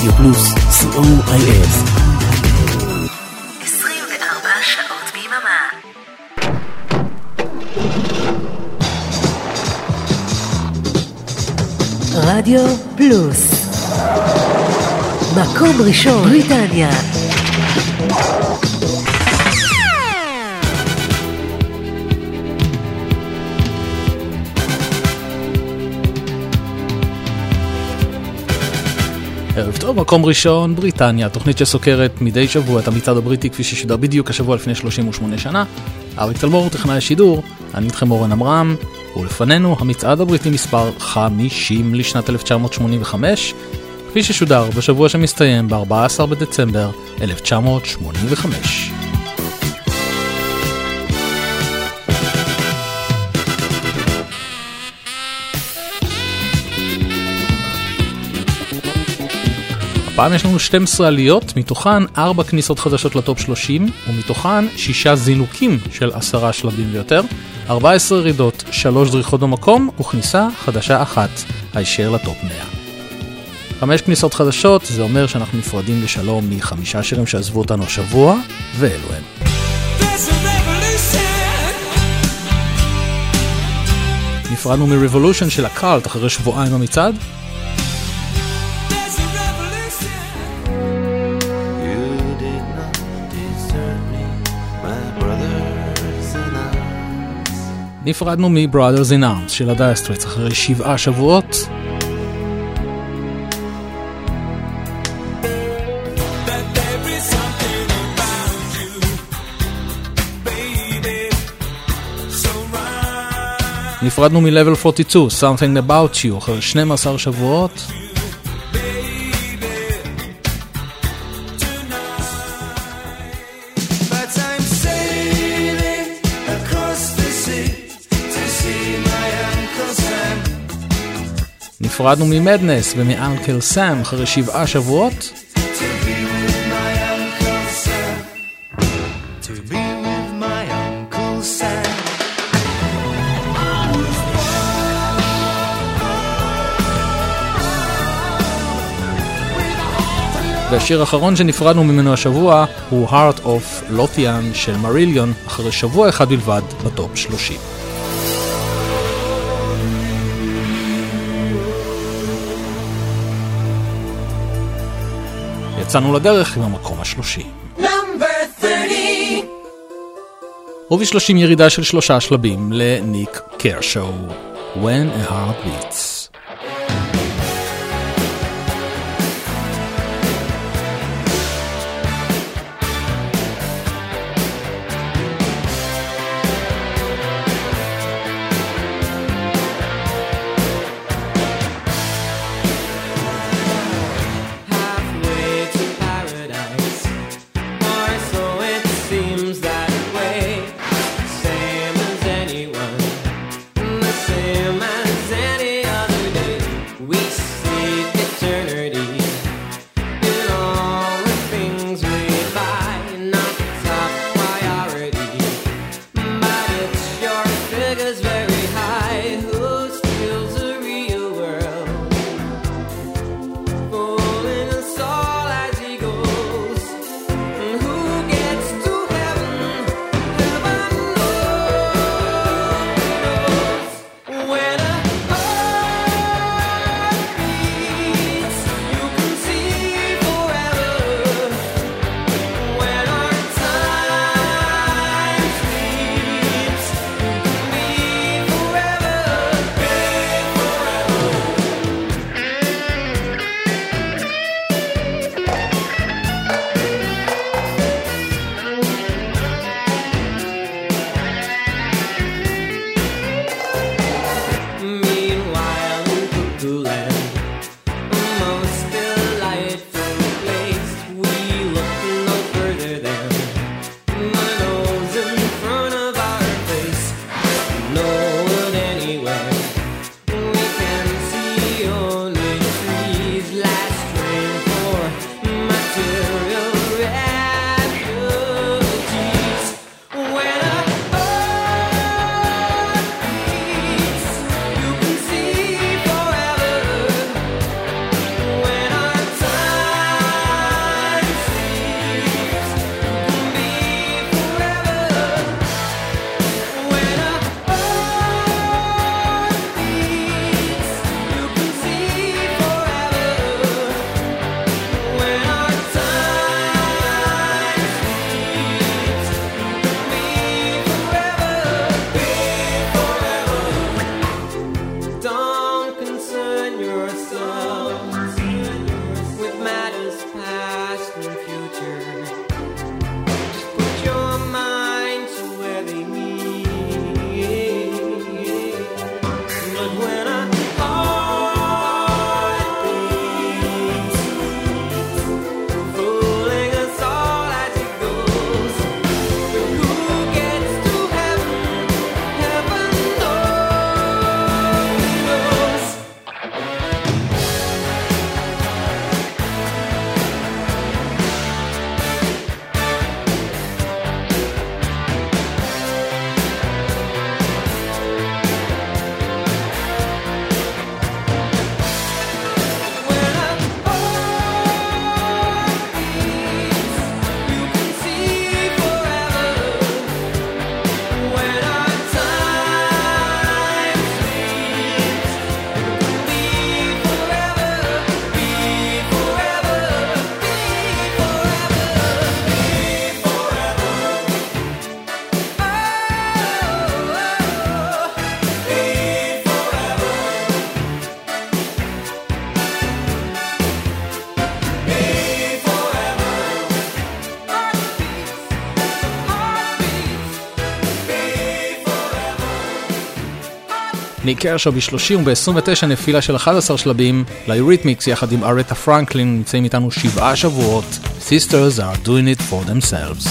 רדיו פלוס, COIS. 24 שעות ביממה. רדיו פלוס, מקום ראשון בריטניה. ערב טוב, מקום ראשון בריטניה, תוכנית שסוקרת מדי שבוע את המצעד הבריטי כפי ששודר בדיוק השבוע לפני 38 שנה. אריק תלמור, טכנאי השידור, אני איתכם אורן אמרם, ולפנינו המצעד הבריטי מספר 50 לשנת 1985, כפי ששודר בשבוע שמסתיים ב-14 בדצמבר 1985. הפעם יש לנו 12 עליות, מתוכן 4 כניסות חדשות לטופ 30, ומתוכן 6 זינוקים של 10 שלבים ויותר, 14 ירידות, 3 דריכות במקום, וכניסה חדשה אחת, הישר לטופ 100. 5 כניסות חדשות, זה אומר שאנחנו נפרדים לשלום מ5 שירים שעזבו אותנו השבוע, ואלו הם. נפרדנו מ-Revolution של הקאלט אחרי שבועיים במצעד. נפרדנו מ-Brothers in Arms של הדייר סטרייטס אחרי 7 שבועות. נפרדנו מ-Level 42, Something About You אחרי 12 שבועות. נפרדנו ממדנס ומאנקל סאם אחרי 7 שבועות. והשיר האחרון שנפרדנו ממנו השבוע הוא Heart of Lothian של מריליון אחרי שבוע אחד בלבד בטופ 30. יצאנו לדרך עם המקום ה-30. וב-30 ירידה של 3 שלבים לניק קרשו, When a Heart Beats. Same as any other day. ניק קרשו ב-30 וב-29 נפילה של 11 שלבים. ליוריתמיקס יחד עם ארתה פרנקלין נמצאים איתנו 7 שבועות. Sisters are doing it for themselves.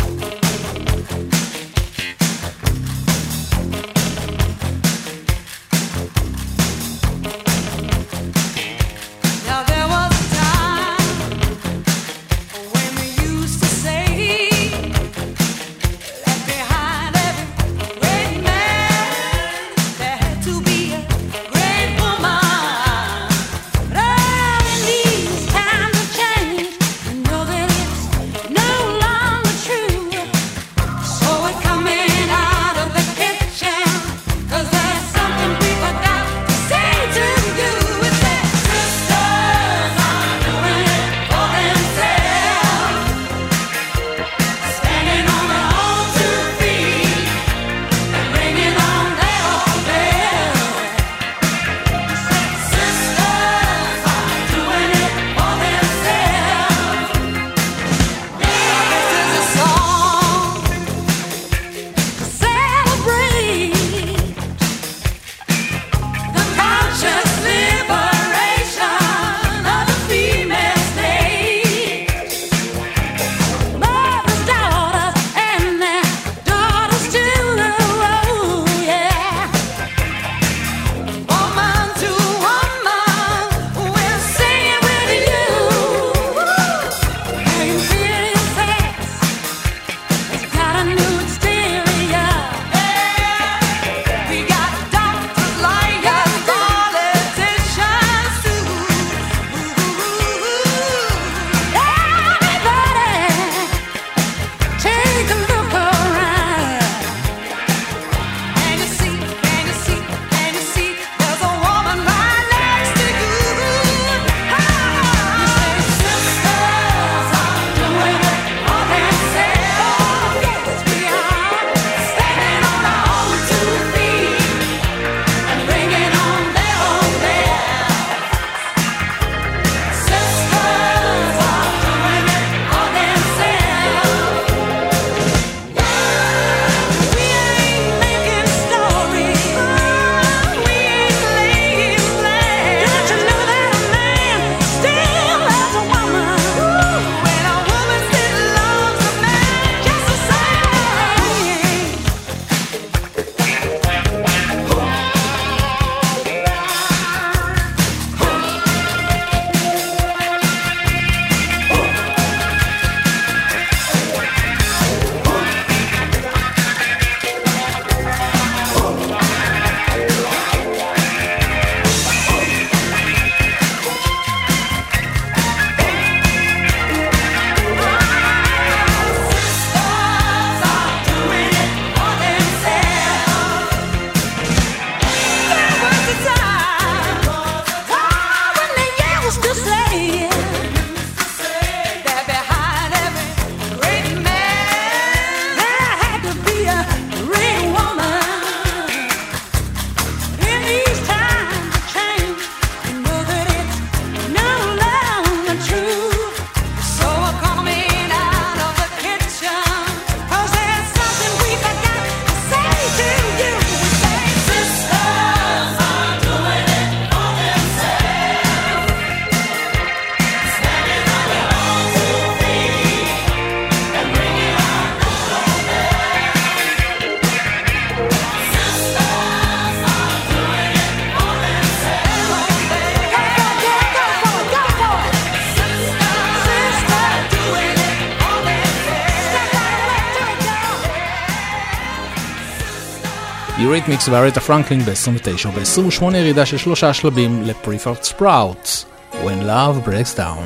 יוריתמיקס וארתה פרנקלין ב-29 וב-28 ירידה של 3 שלבים ל-Preferred Sprouts When Love Breaks Down.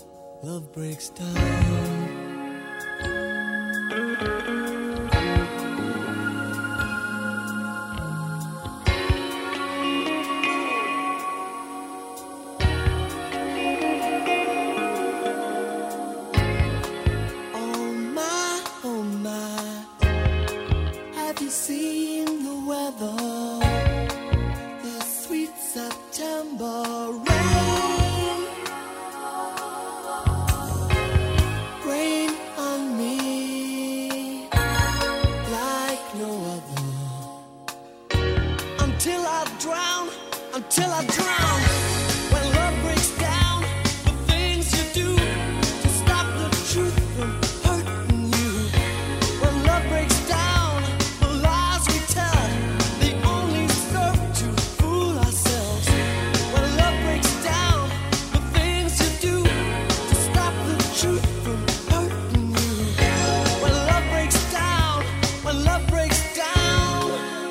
Love breaks down. till I drown. When love breaks down, the things you do to stop the truth from hurting you. When love breaks down, the lies we tell, they only serve to fool ourselves. When love breaks down, the things you do to stop the truth from hurting you. When love breaks down, when love breaks down.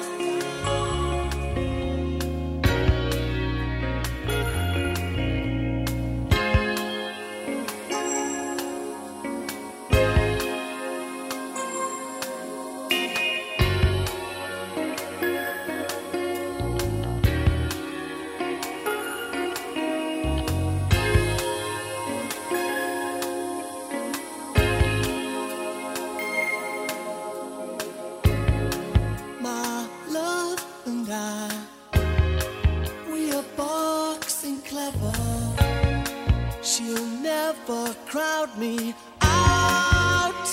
My love and I, we are boxing clever. She'll never crowd me out.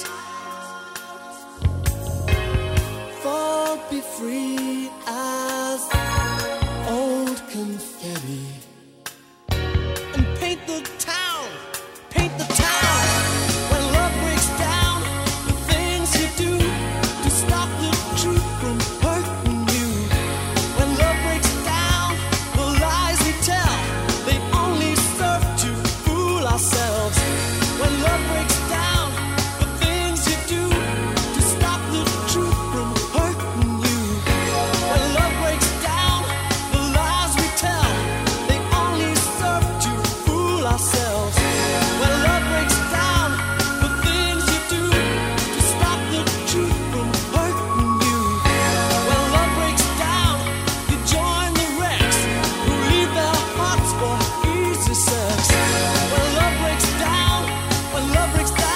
Fall, be free as old confetti, and paint the town, paint the town. When love breaks down, the things you do to stop the truth from hurting you. When love breaks down, the lies we tell, they only serve to fool ourselves. When love breaks down, the things you do to stop the truth from hurting you. When love breaks down, the lies we tell, they only serve to fool ourselves. When love breaks down, the things you do to stop the truth from hurting you. When love breaks down, you join the wrecks who leave their hearts for easy sex. When love breaks down, when love breaks down.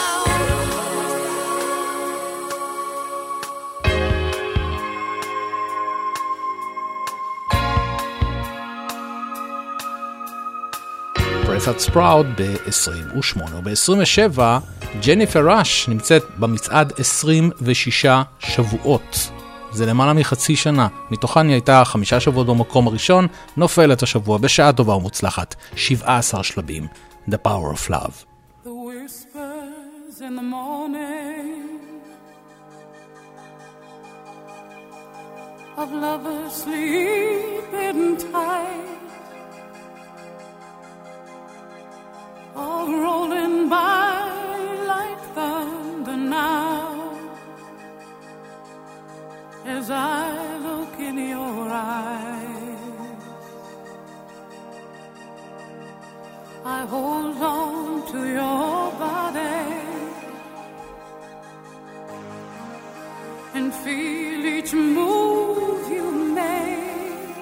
פרסת ספראוד ב-28 וב-27 ג'ניפר ראש נמצאת במצעד 26 שבועות. זה למעלה מחצי שנה, מתוכן היא הייתה 5 שבועות במקום הראשון, נופלת השבוע בשעה טובה ומוצלחת, 17 שלבים. The Power of Love. The whispers in the morning of lovers sleeping tight are rolling by like thunder now as I look in your eyes. I hold on to your body and feel each move you make.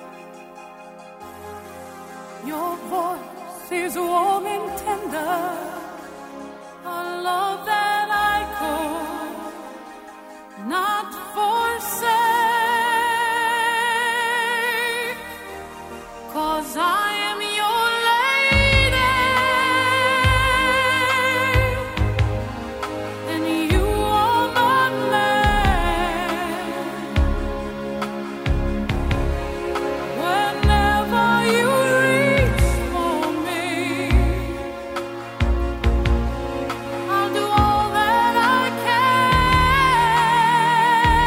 Your voice is warm and tender, a love that I could not forsake, 'cause I am your lady and you are my man. Whenever you reach for me, I'll do all that I can.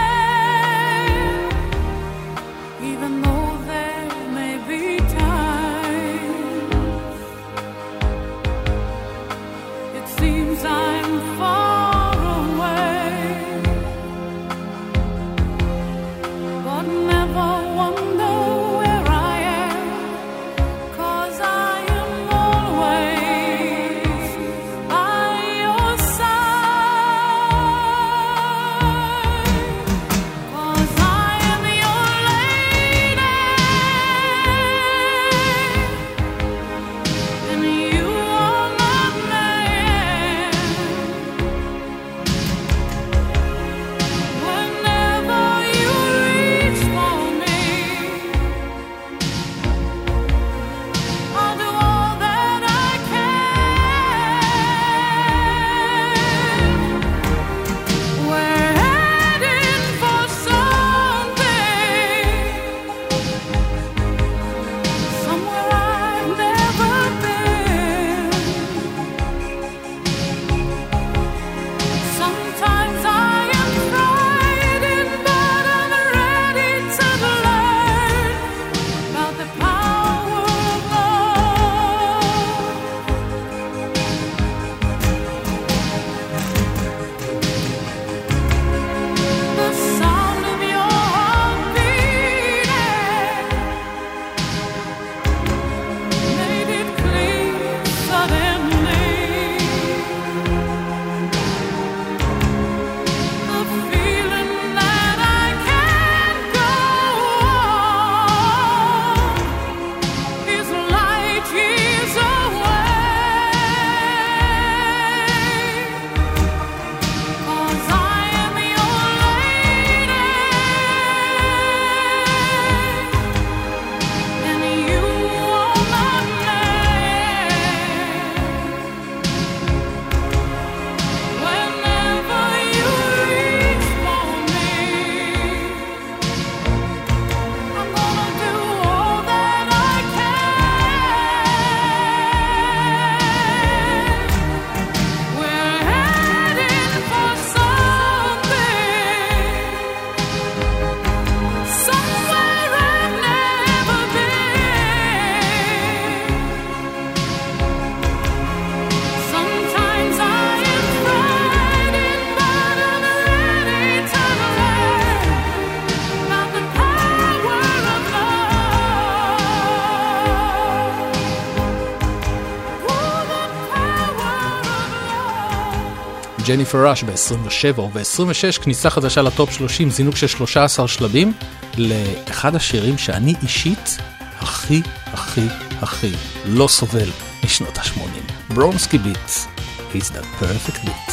ג'ניפר ראש ב-27 וב-26 כניסה חדשה לטופ 30, זינוק של 13 שלבים לאחד השירים שאני אישית הכי לא סובל משנות ה-80, ברונסקי ביט, It's that perfect beat.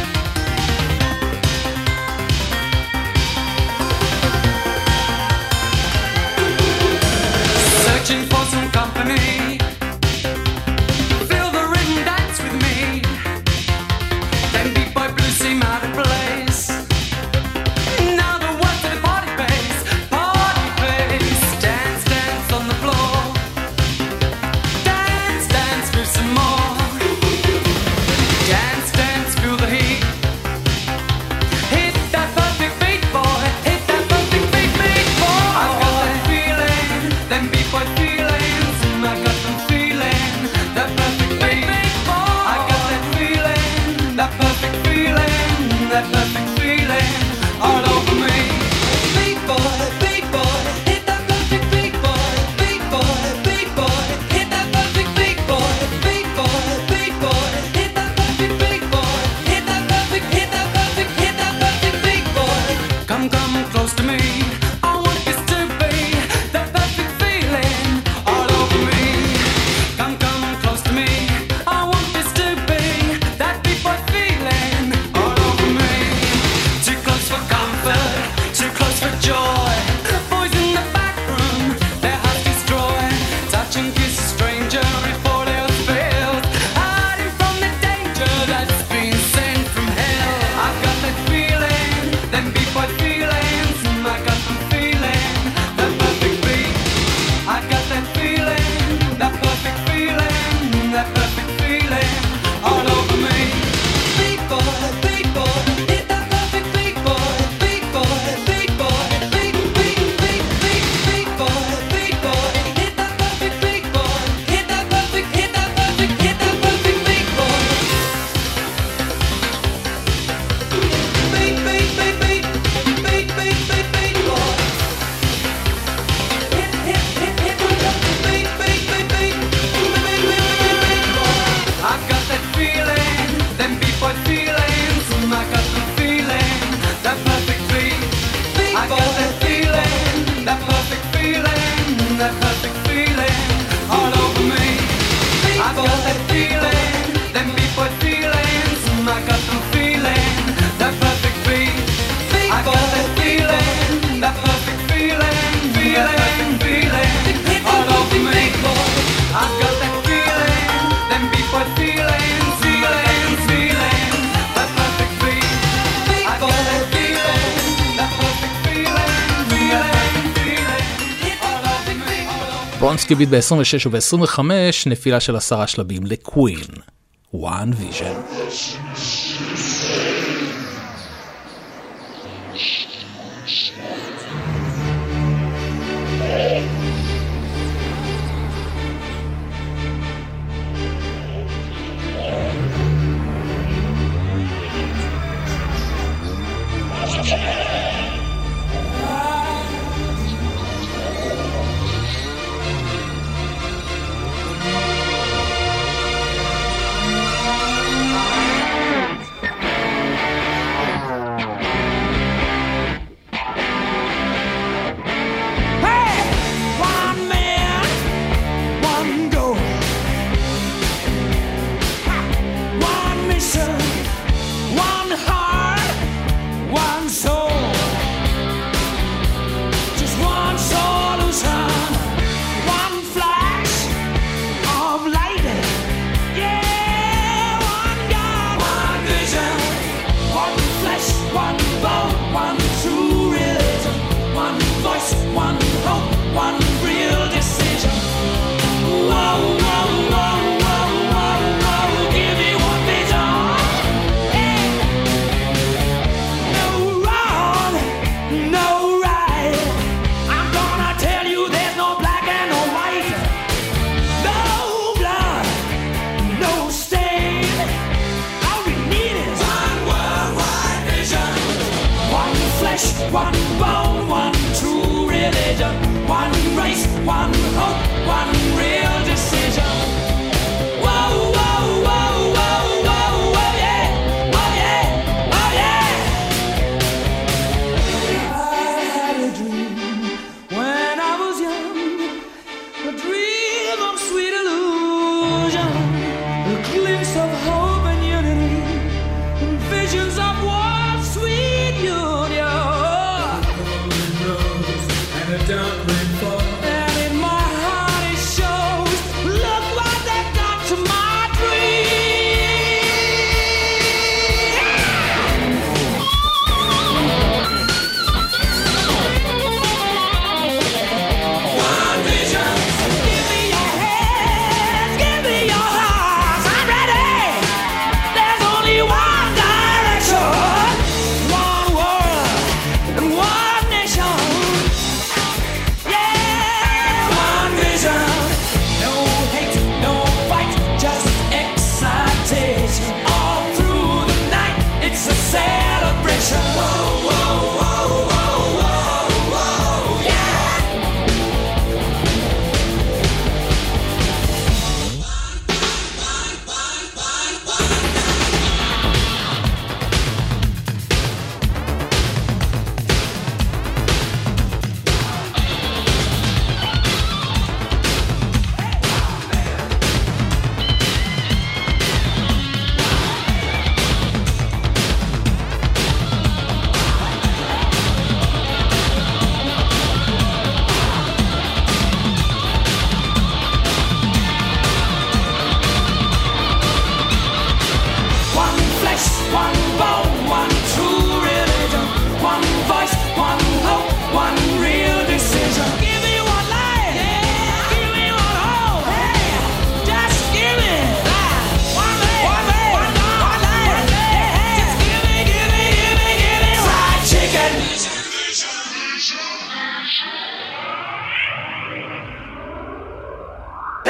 Searching for some company, feel the rhythm dance with me. Then beat by blue seem out of place. Now the words of the party face, dance, dance on the floor. Dance, dance, move some more. Dance, dance, feel the heat. Hit that perfect beat, boy. Hit that perfect beat, beat, boy. I've got that feeling, them beat boy feelings. I got them feeling, that perfect beat, beat, boy. I got that feeling, that perfect feeling, that perfect feeling all over me. Beat boy, hit that perfect beat, boy. Beat boy, hit that perfect beat, boy. Beat boy, hit that perfect beat, boy. Hit that perfect beat, boy. Come close to me. I want this to be the perfect feeling all over me. Come close to me. I want this to be that beat boy feeling all over me. Too close for comfort, too close for joy. Boys in the back room, their hearts destroy. Touch and kiss a stranger before they all failed. Hiding from the danger that's been sent from hell. I've got that feeling, them beat boy feelings. I got them feeling, that perfect beat. I got that feeling, that perfect feeling, that perfect feeling all over me. Beat boy, hit that perfect beat, boy. Beat boy, beat boy, beat boy, hit that perfect beat, boy. Hit that perfect beat, boy. Beat, boy. I've got that feeling, them beat boy feelings. I got the feeling, that perfect beat. I got that feeling, that perfect feeling, that perfect feeling all over me. I've got that feeling, them beat boy feelings. I got the feeling, that perfect beat. I got that feeling, that perfect feeling, feeling all over me. I've got that feeling, them beat boy feelings, feeling, that perfect beat. I got that feeling, that perfect feeling, all over me. ברונסקי ביט ב-26 וב-25 נפילה של 10 שלבים לקווין, One Vision. One bone, one true religion, one race, one hope, one real decision. Whoa, whoa, whoa, whoa, whoa, whoa, yeah, oh yeah.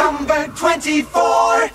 number 24.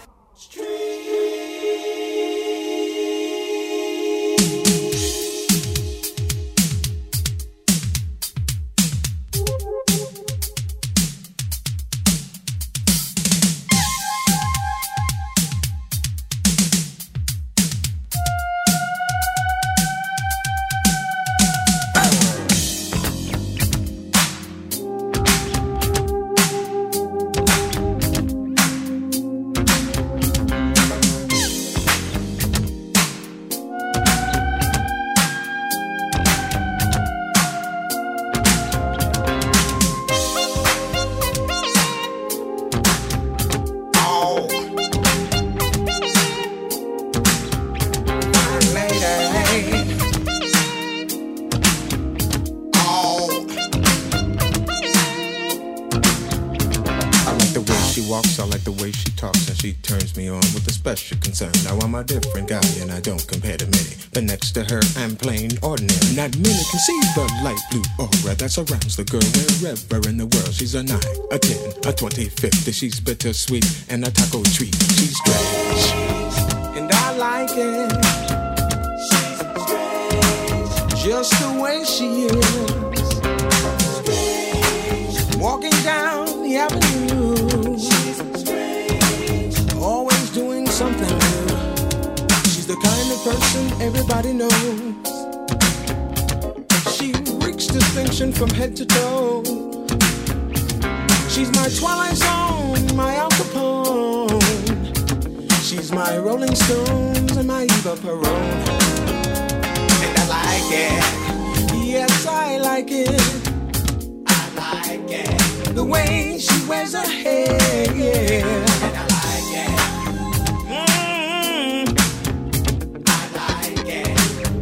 Now I'm a different guy and I don't compare to many, but next to her I'm plain ordinary. Not many can see the light blue aura that surrounds the girl wherever in the world. She's a 9, a 10, a 20, 50. She's bittersweet and a taco treat. She's strange and I like it. She's strange, just the way she is. Strange, walking down the avenue. She's strange, always doing something new. She's the kind of person everybody knows. She reeks distinction from head to toe. She's my Twilight Zone, my Al Capone. She's my Rolling Stones and my Eva Peron. And I like it. Yes, I like it. I like it. The way she wears her hair, yeah. And I like it. I like it.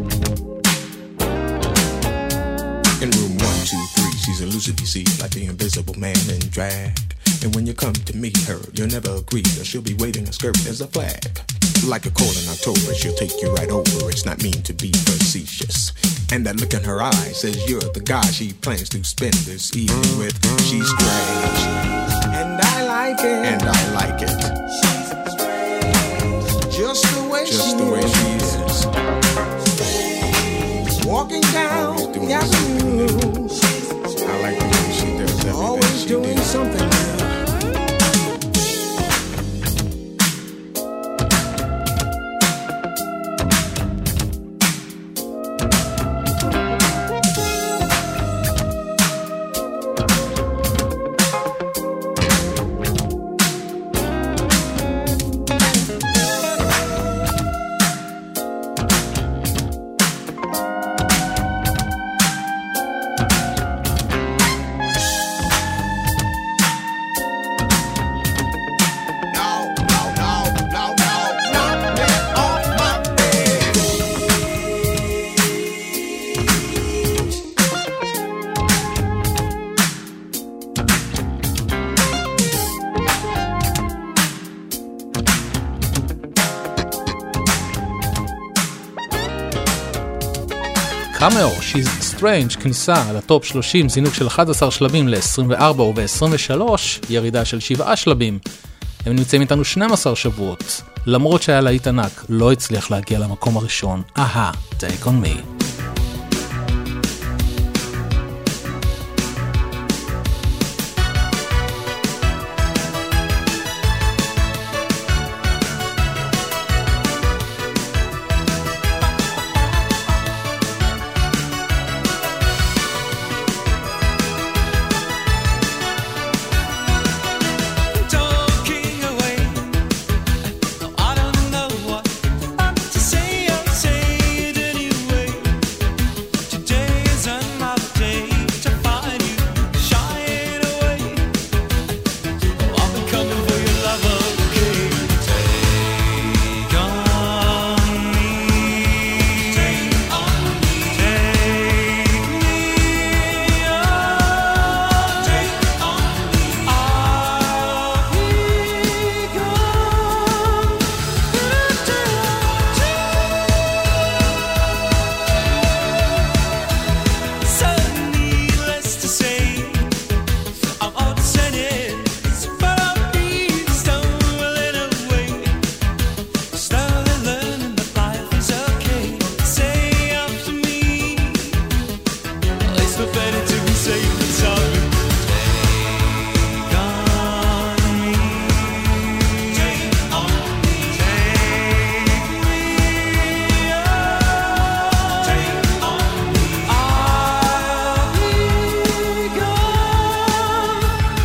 In room 1, 2, 3, she's elusive, you see, like the invisible man in drag. And when you come to meet her, you'll never agree, or she'll be waving a skirt as a flag. Like a cold in October, she'll take you right over. It's not mean to be facetious. And that look in her eyes says you're the guy she plans to spend this evening with. She's strange, and I like it. And I like it. She's strange, just the way she is. Strange, walking down the avenue. I like the way she does everything. Always doing something new. קאמאו, She's Strange, כניסה לטופ 30, זינוק של 11 שלבים ל-24 וב-23, ירידה של 7 שלבים. הם נמצאים איתנו 12 שבועות. למרות שהיה להיט ענק, לא הצליח להגיע למקום הראשון. Take on me. I don't know what to say, I'll say it anyway. so better to be safe than sorry. Take on me. Take on me. Take me. Take on me. I'll be gone.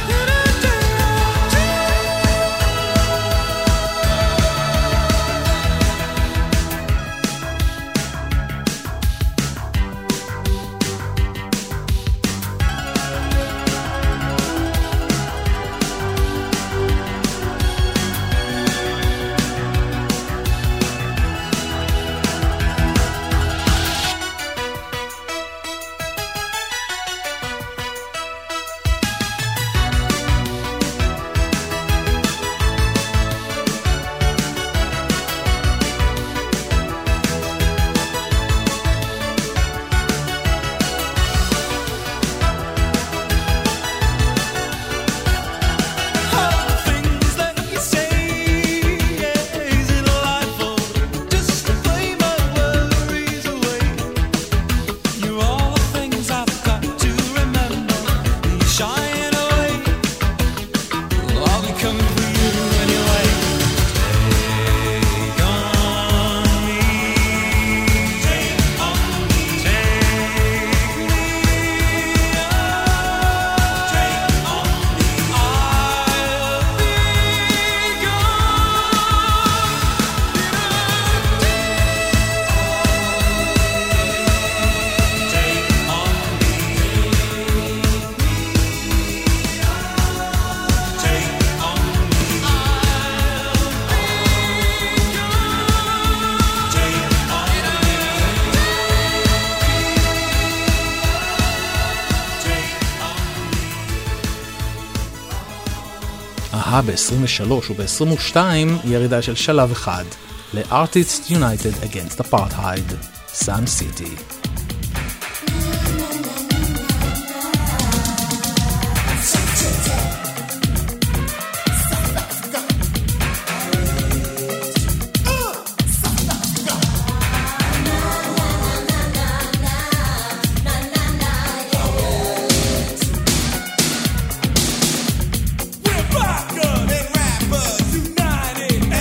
ב-23 וב-22 ירידה של שלב אחד ל-Artists United Against Apartheid, Sun City.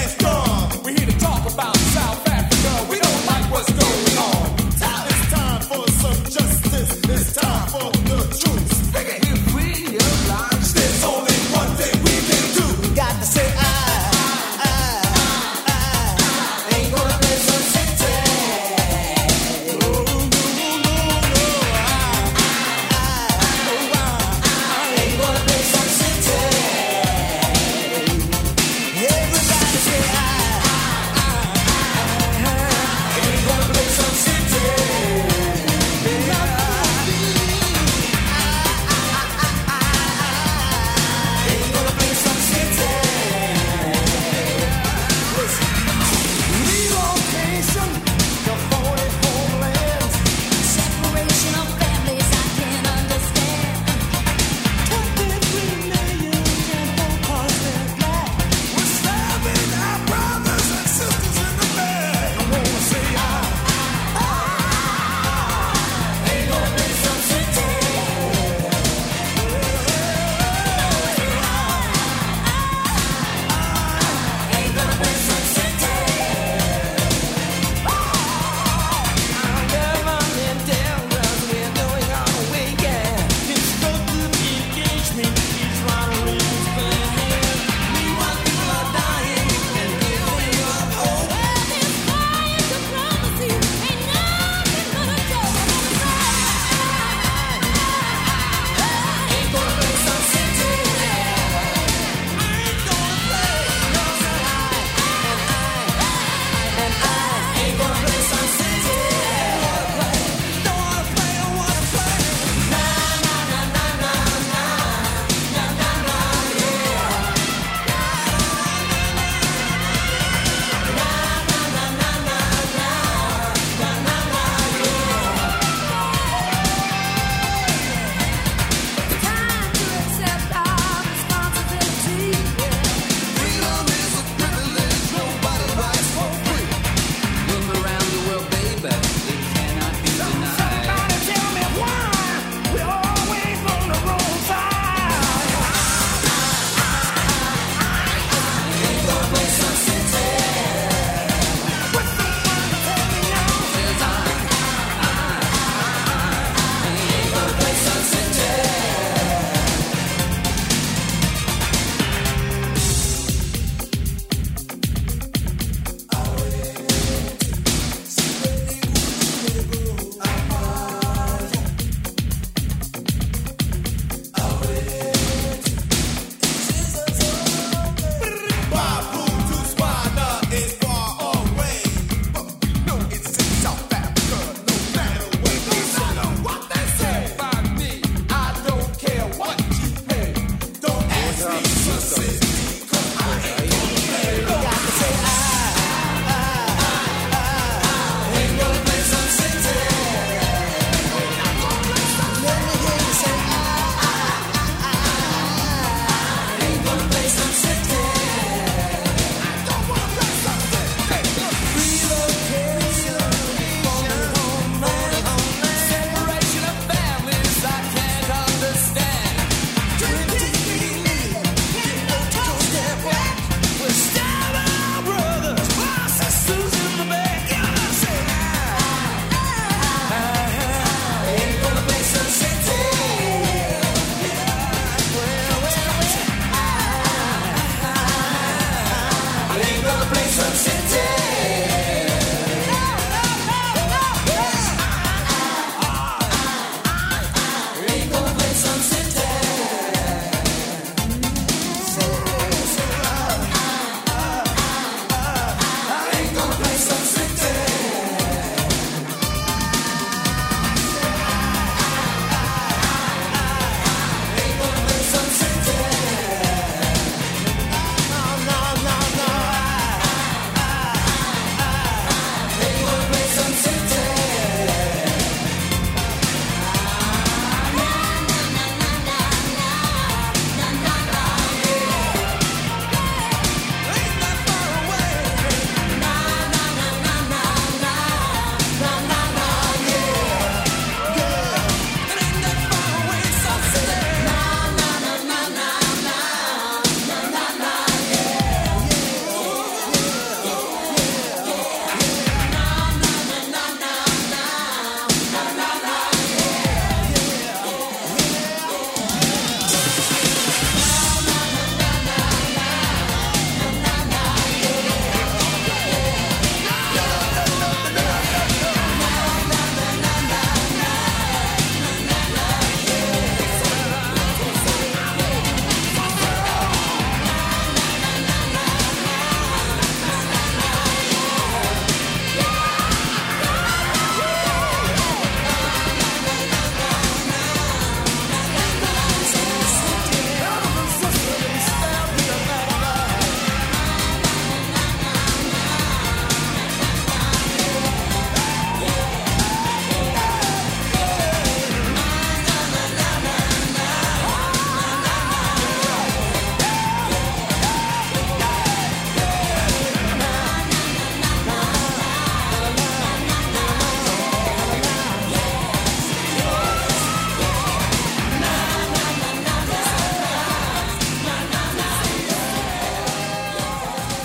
Time for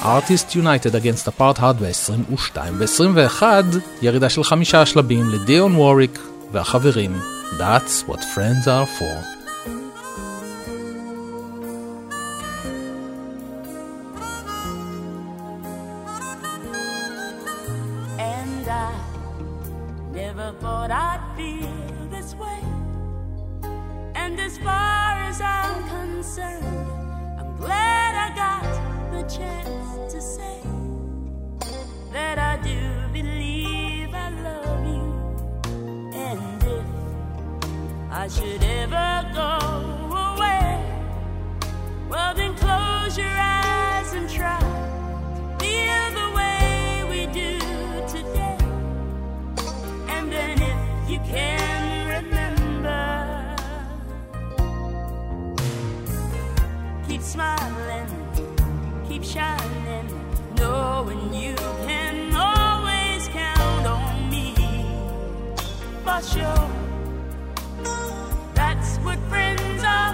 Artists United Against Apartheid ב-22. ב-21 ירידה של 5 שלבים לדיון ווריק והחברים. That's what friends are for. And I never thought I'd feel this way. And as far as I'm concerned, I'm glad I got the chance to say that I do believe I love you. And if I should ever go away, well then close your eyes and try to feel the way we do today. And then if you can remember, keep smiling, keep shining, knowing you can always count on me. For sure, that's what friends are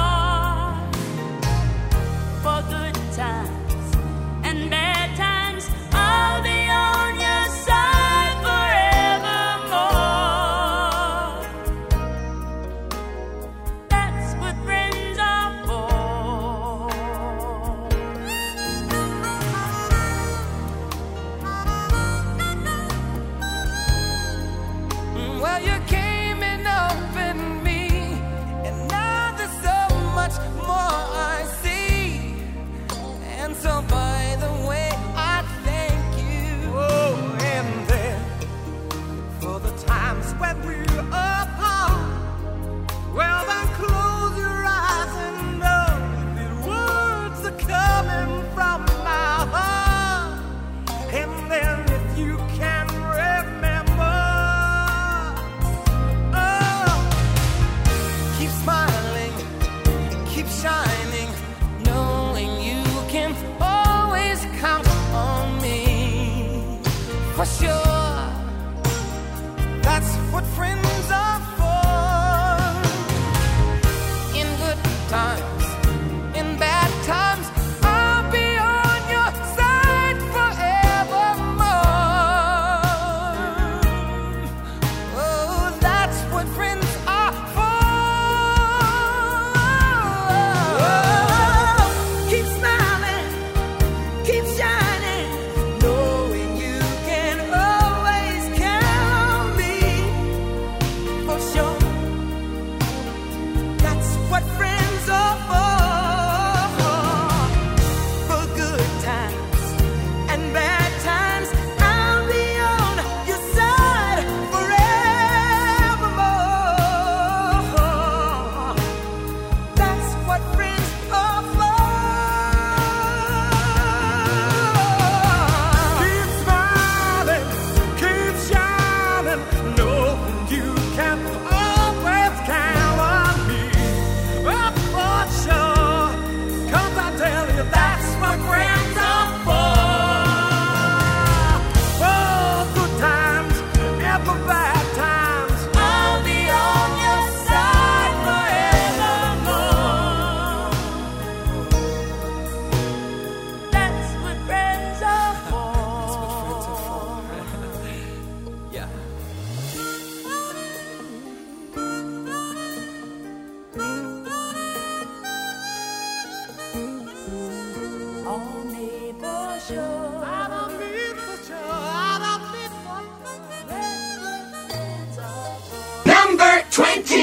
for good times and bad times. I'll be on your side forevermore. That's what friends are for. Well, you came in up in me, and now there's so much more I see. And so by the way, I thank you. Oh, and then for the times when we're apart, well then close your eyes and know the words are coming from my heart. And then if you can remember, oh, keep smiling, keep shining, knowing you can always count on me. For sure, that's what friends are for. In good times, in bad times, I'll be on your side forevermore. Oh, that's what friends are for. Keep smiling, keep shining, knowing you can always count on me. For sure, that's what friends are for good times and bad times. I'll be on your side forevermore. That's what friends are for. Keep smiling, keep shining, knowing you can always count on me. Oh, for sure, 'cause I tell you that's what friends are for. For good times and for bad times, I'll be on your side forevermore. That's what friends are for. Yeah. Only for sure. I don't need for sure, I don't need for sure. That's what friends are for. Number 20.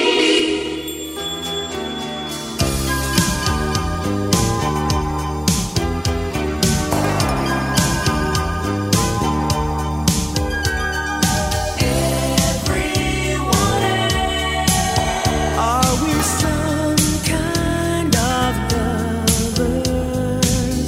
Are we some kind of lovers?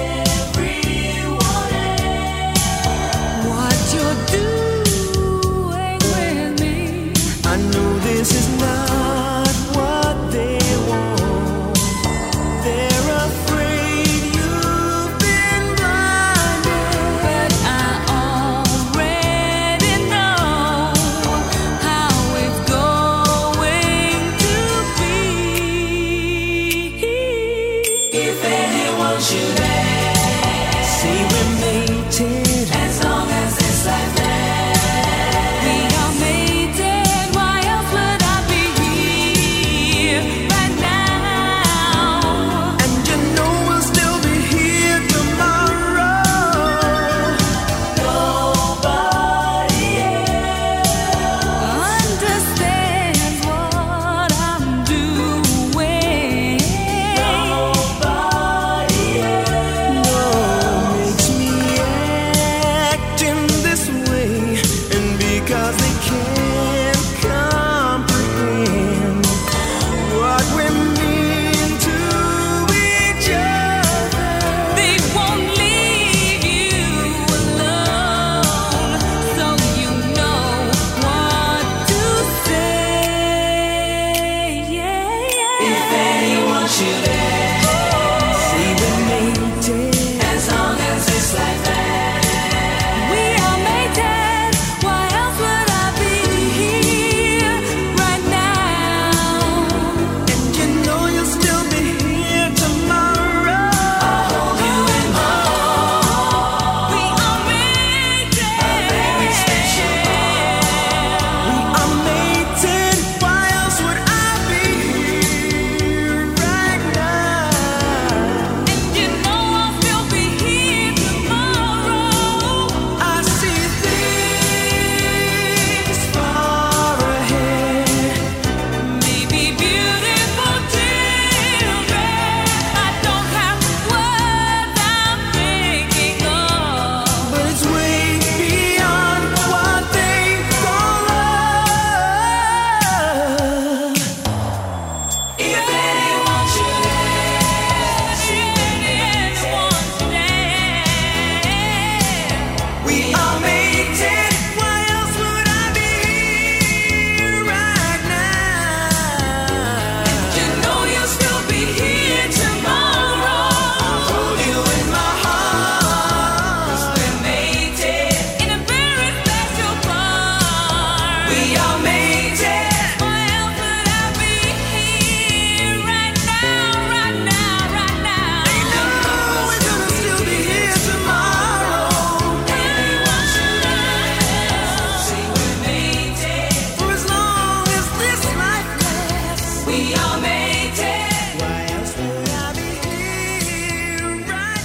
What you're doing with me, I know this is not what they want. They're afraid you've been blinded, but I already know how it's going to be. If anyone should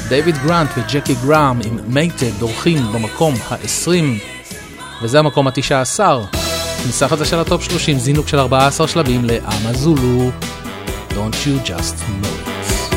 דייוויד גרנט וג'קי גראם עם מייטד דורכים במקום ה-20, וזה המקום ה-19. כניסה חדשה של הטופ 30, זינוק של 14 שלבים לאמזולו, Don't You Just Know It.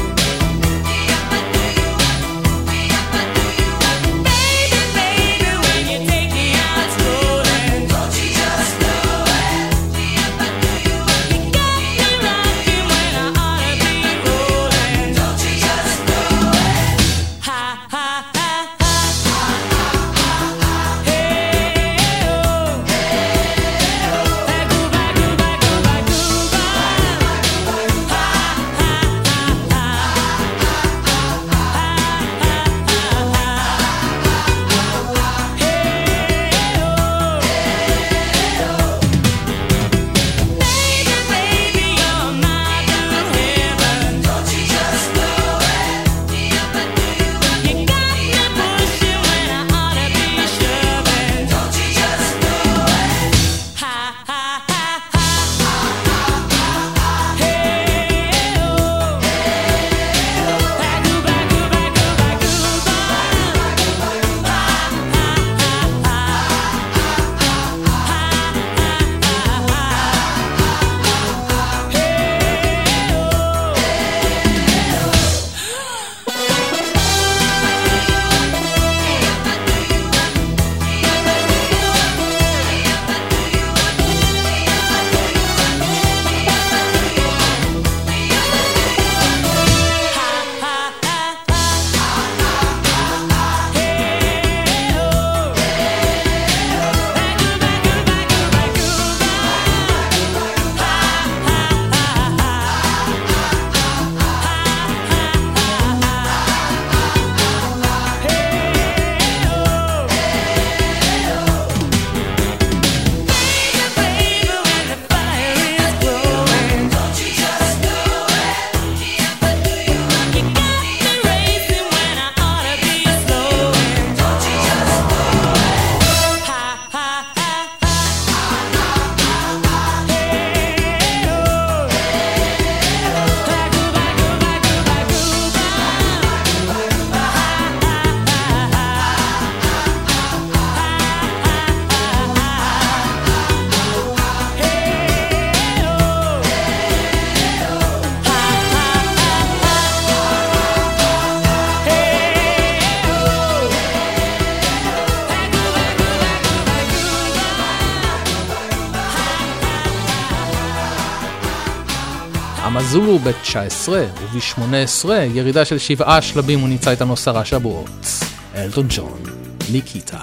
אמזולו ב-19 וב-18 ירידה של 7 שלבים, הוא נמצא איתנו 10 שבועות. אלטון ג'ון, ניקיטה.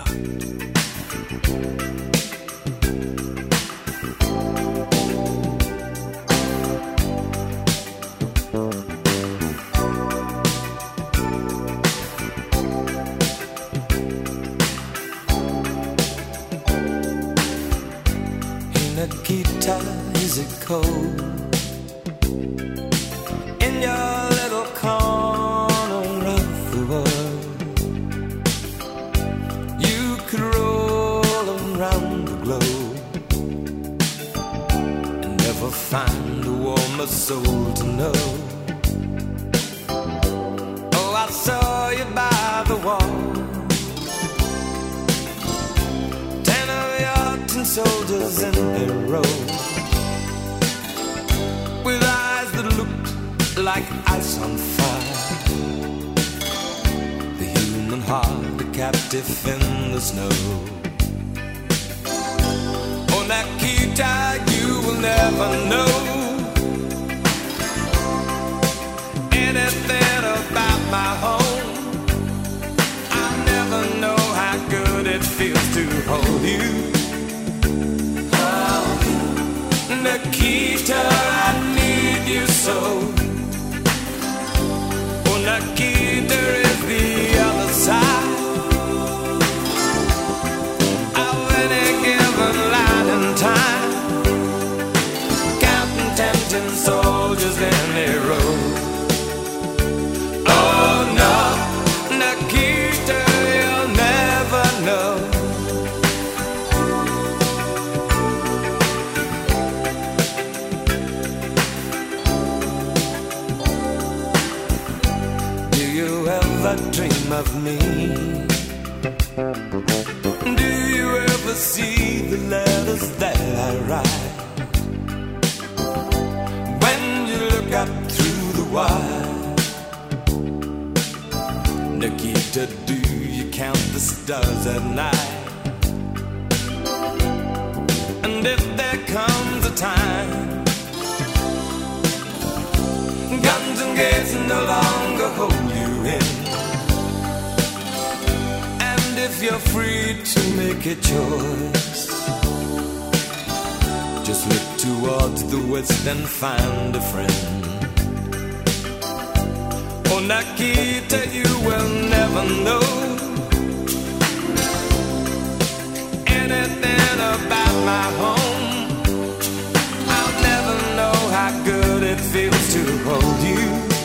Nikita, is it cold? In your little corner of the world, you could roll around the globe and never find a warmer soul to know. Oh, I saw you by the wall, 10 of your tin soldiers in their row, with eyes that looked like ice on fire, the human heart a captive in the snow. Oh, Nikita, you will never know anything about my home. I never know how good it feels to hold you. Oh, Nikita, I need you so. Oh, Nikita is the other side of any given line in time, counting 10 soldiers in a row. Oh no, Nikita, you'll never know. love me? Do you ever see the letters that I write? When you look up through the wire, Nikita, do you count the stars at night? And if there comes a time guns and gates no longer hold you in, and if you're free to make a choice, just look towards the west and find a friend. Oh, Nikita, you will never know anything about my home. I'll never know how good it feels to hold you.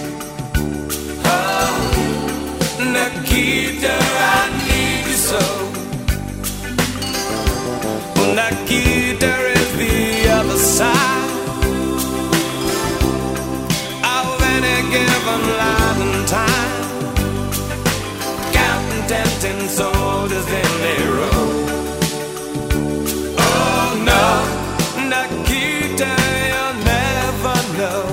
Oh, Nikita, I need you so. Oh, Nikita is the other side of any given line and time, counting 10 soldiers in a row. Oh no, Nikita, you'll never know.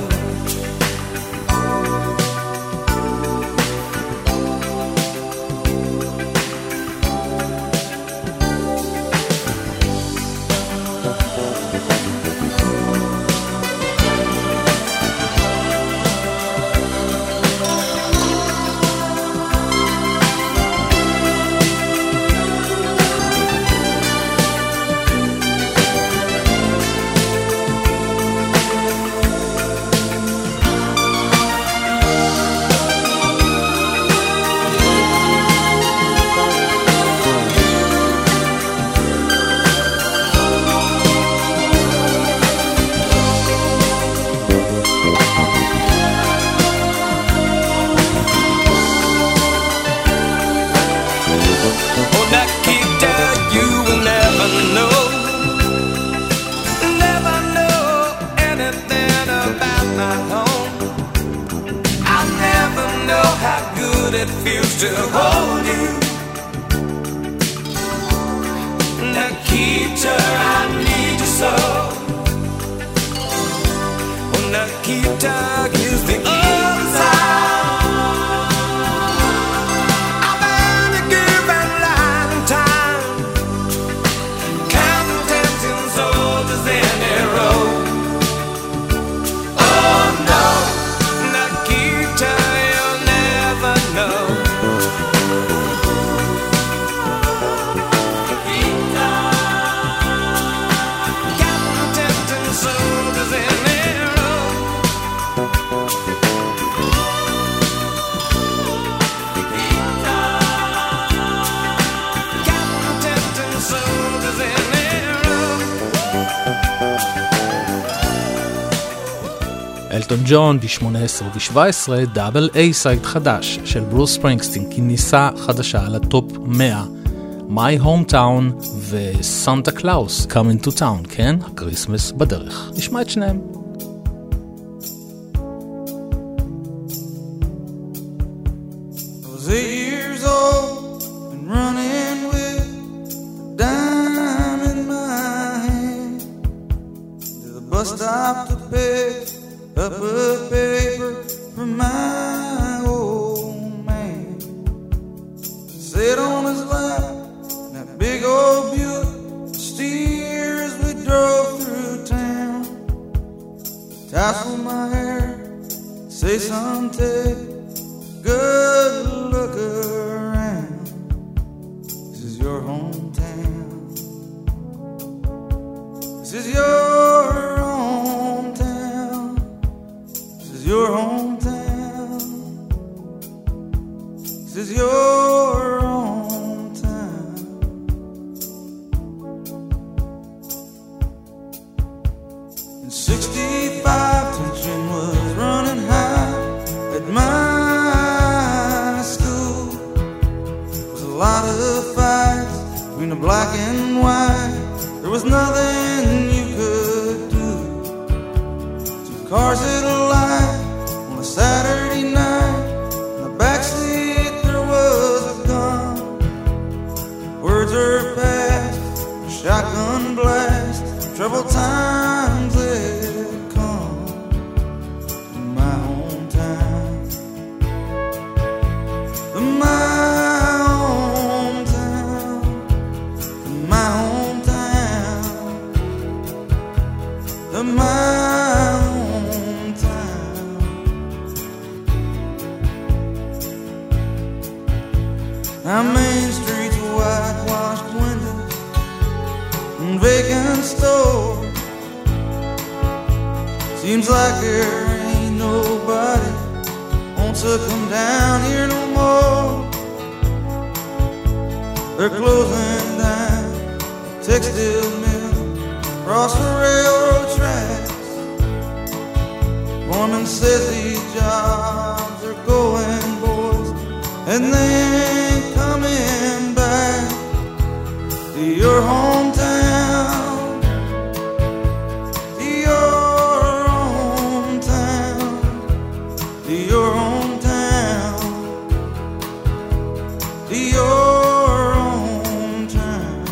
It feels to hold you, Nikita, I need you so. Oh, Nikita, use the other side of any given line and time, counting 10 soldiers in a row. Oh no, Nikita, you'll never know. אלטון ג'ון ב-18 ו-17 דאבל איי סייד חדש של ברוס ספרינגסטין, כניסה חדשה לטופ 100, My Hometown וסנטה קלאוס Coming to Town, כן? הקריסמס בדרך. נשמע את שניהם. I was 8 years old and running with a dime in my hand to the bus stop to pick up a paper from my old man. Sit on his lap in that big old Buick, steer as we drove through town. Tassel my hair, say son, take good look around. This is your hometown. This is your hometown. This is your hometown. This is your hometown. In 65, tension was running high at my school. There was a lot of fights between the black and white. There was nothing you could do. Two cars at a light on a Saturday night. In the backseat there was Now Main Street's whitewashed windows and vacant stores. Seems like there ain't nobody wants to come down here no more. They're closing down the textile mill across the railroad tracks. Foreman says these jobs are going, boys, and they ain't coming back to your hometown, to your hometown, to your hometown, to your hometown.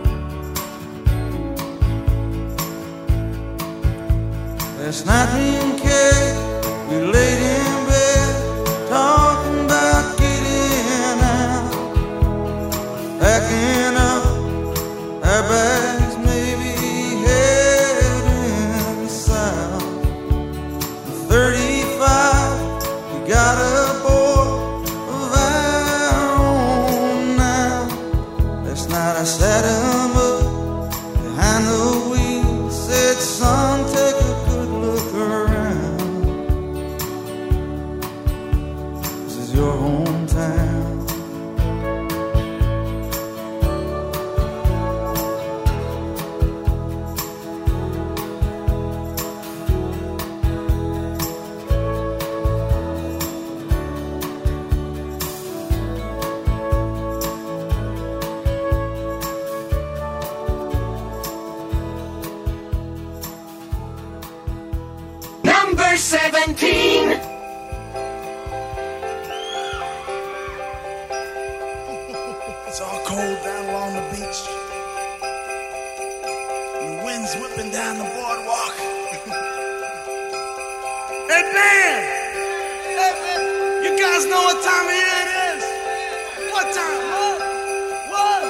Last night me and Kay, we laid in bed talking about getting out, packing up our bags, maybe heading south. 35, we got a boy of our own now. Last night I sat him up behind the wheel, said, son, take a good look around. This is your hometown. Number 17. It's all cold down along the beach. The wind's whipping down the boardwalk. Hey, man! Hey, man! You guys know what time of year it is? What time? What?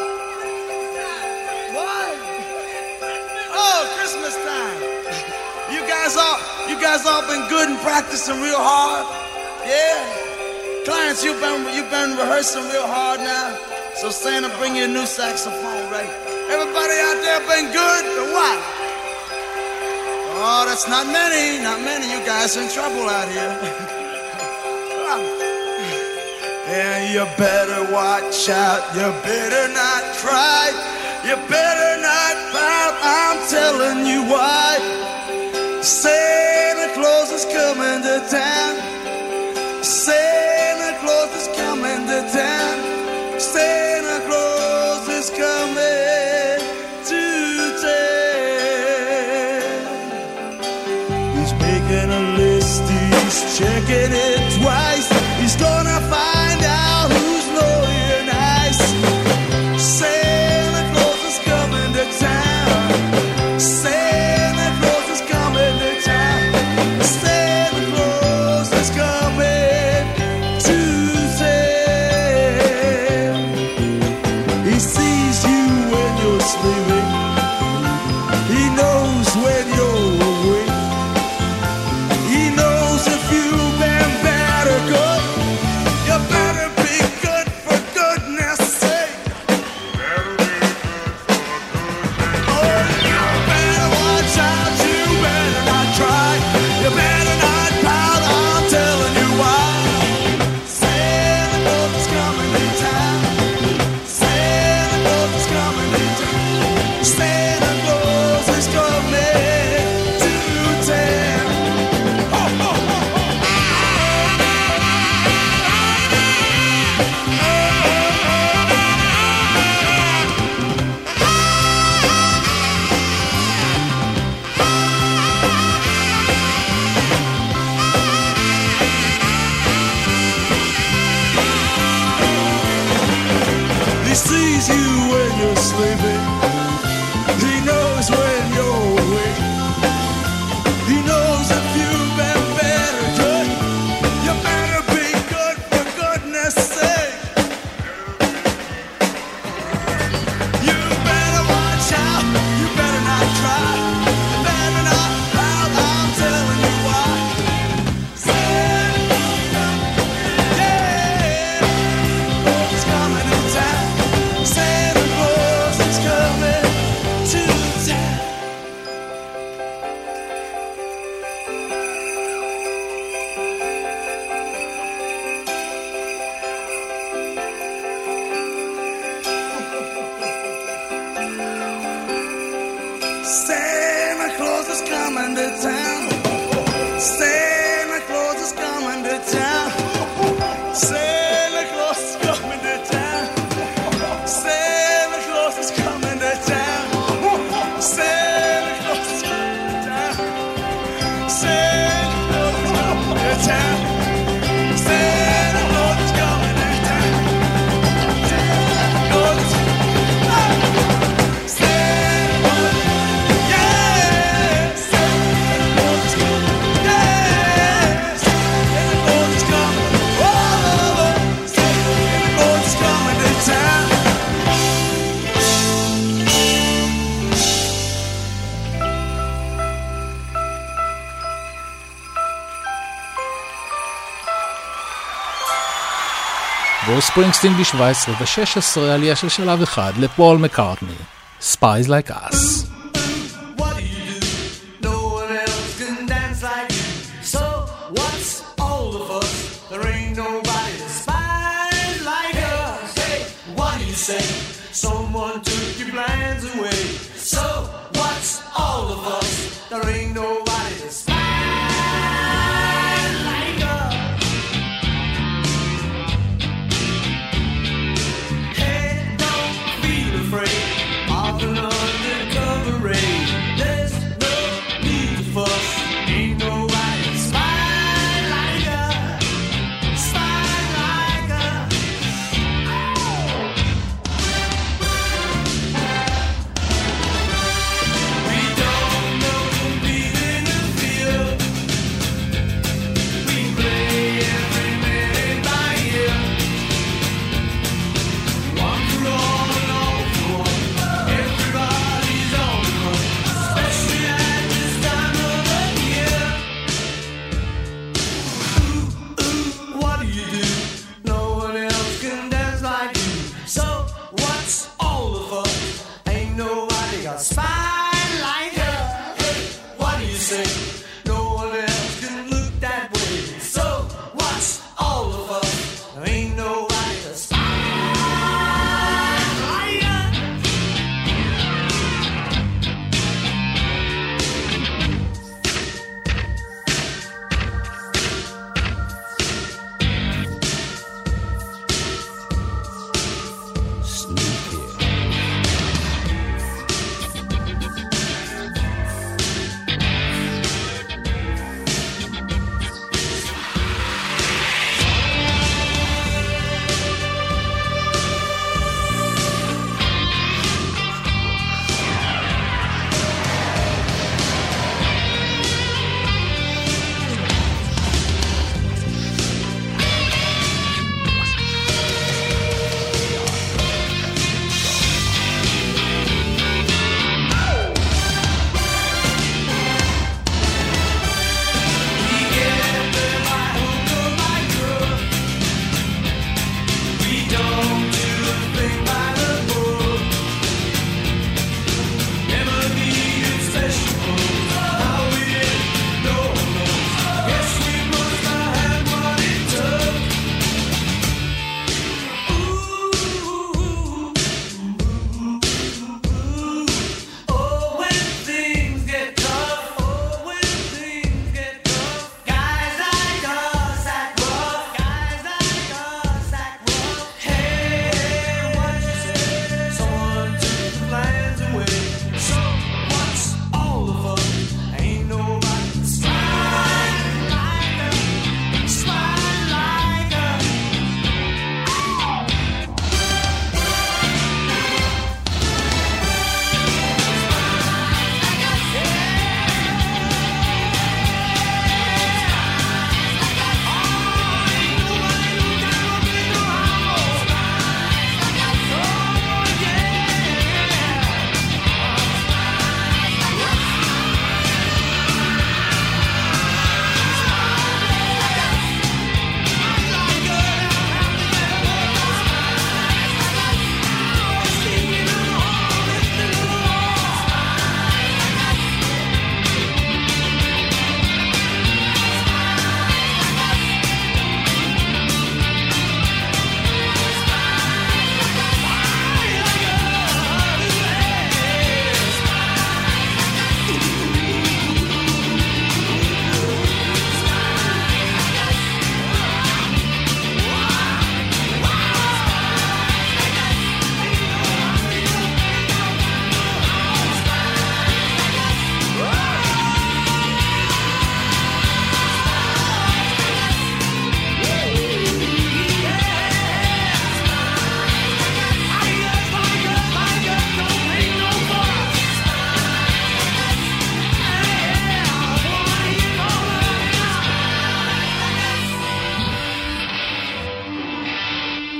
What? Oh, Christmas time. You guys all been good and practicing real hard? Yeah? Clarence, you've been rehearsing real hard now. So Santa, bring you a new saxophone, right? Everybody out there been good or what? Oh, that's not many. You guys are in trouble out here. Yeah, you better watch out. You better not cry. You better not pout. I'm telling you why. Santa Claus is coming to town. Santa Claus is coming to town. Santa Claus is coming to town. He's making a list, he's checking it twice. He's gonna find out who's naughty and nice. Santa Claus is coming to town. Santa Claus is coming to town. Santa Claus is coming to town. He sees you when you're sleeping. He knows when you're awake. He knows if you've been bad or good. You better be good for goodness sake. Oh, you better watch out. You better not try. You better not pout. I'm telling you why. Santa Claus is coming to town. Santa Claus is coming to town. Santa Claus is coming to town. Ho, ho, ho, ho. He sees you when you're sleeping. He knows when you're awake. He knows if you've been bad or good. You better be good for goodness sake. You better watch out. You better not cry. You better not pout. I'm telling you why. Santa, yeah, Claus is coming to town. Santa Claus is coming to town. Santa Claus is coming to town. Santa Claus is coming to town. Santa Claus is coming to town. Santa Claus is coming to town. Santa Claus is coming to town. Santa Claus is coming to town. Santa Claus is ברוס ספרינגסטין ב-17 ו-16 עלייה של שלב אחד לפול מקארטני, Spies Like Us. What do you do? No one else can dance like you. So what's all the fuss? There ain't nobody that spies like us. Hey, what do you say? Someone took your plans away. So what's all the fuss? There ain't nobody that spies like us. Hey, don't feel afraid of an undercover raid. There's no need to fuss. Ain't nobody that spies like us. Spies like us. We don't know, believe in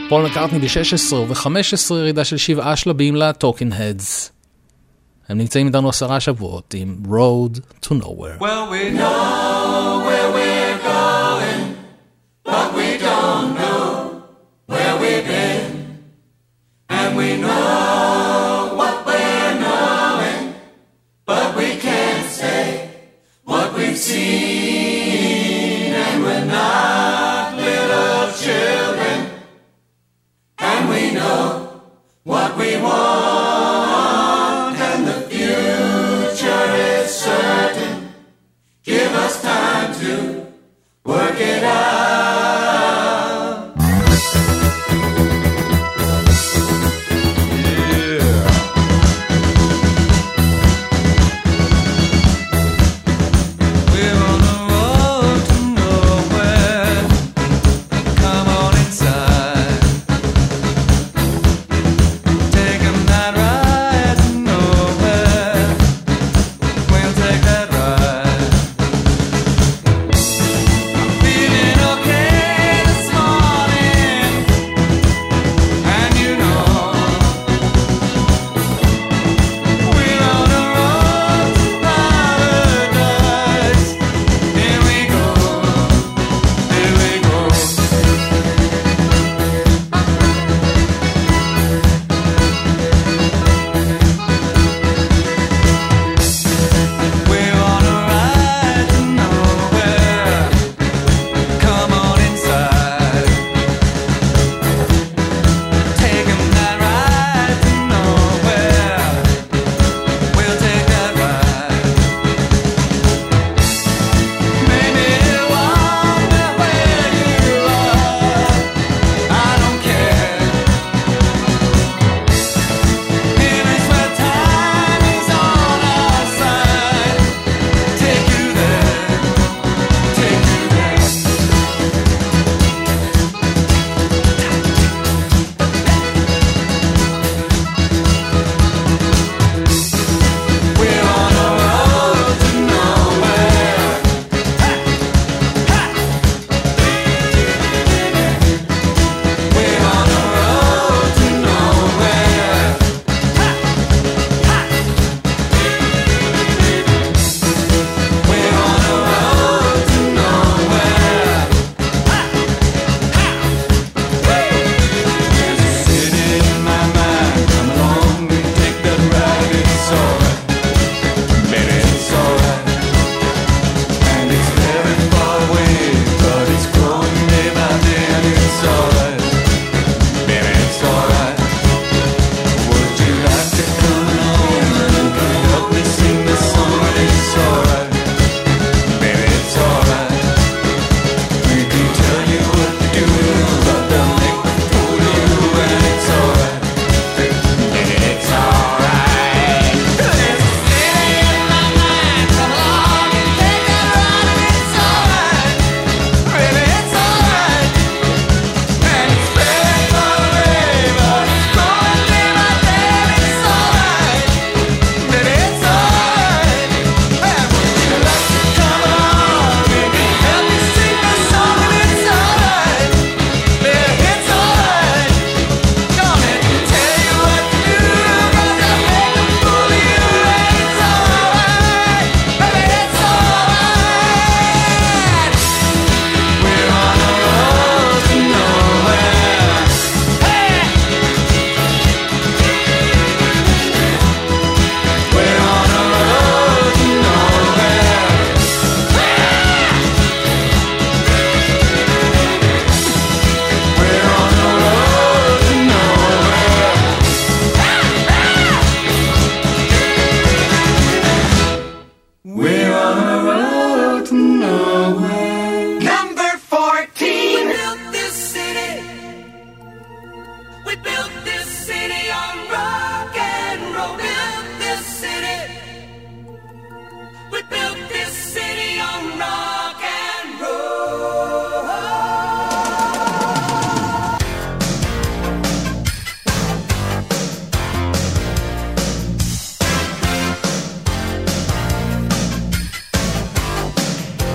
פול מקארטני ב-16 וב-15 ירידה של 7 שלבים ל-Talking Heads. הם נמצאים איתנו 10 שבועות עם Road to Nowhere. Well, we know where we're going, but we don't know where we've been. And we know what we're knowing, but we can't say what we've seen. And we're not little children, and we know what we want, and the future is certain. Give us time to work it out.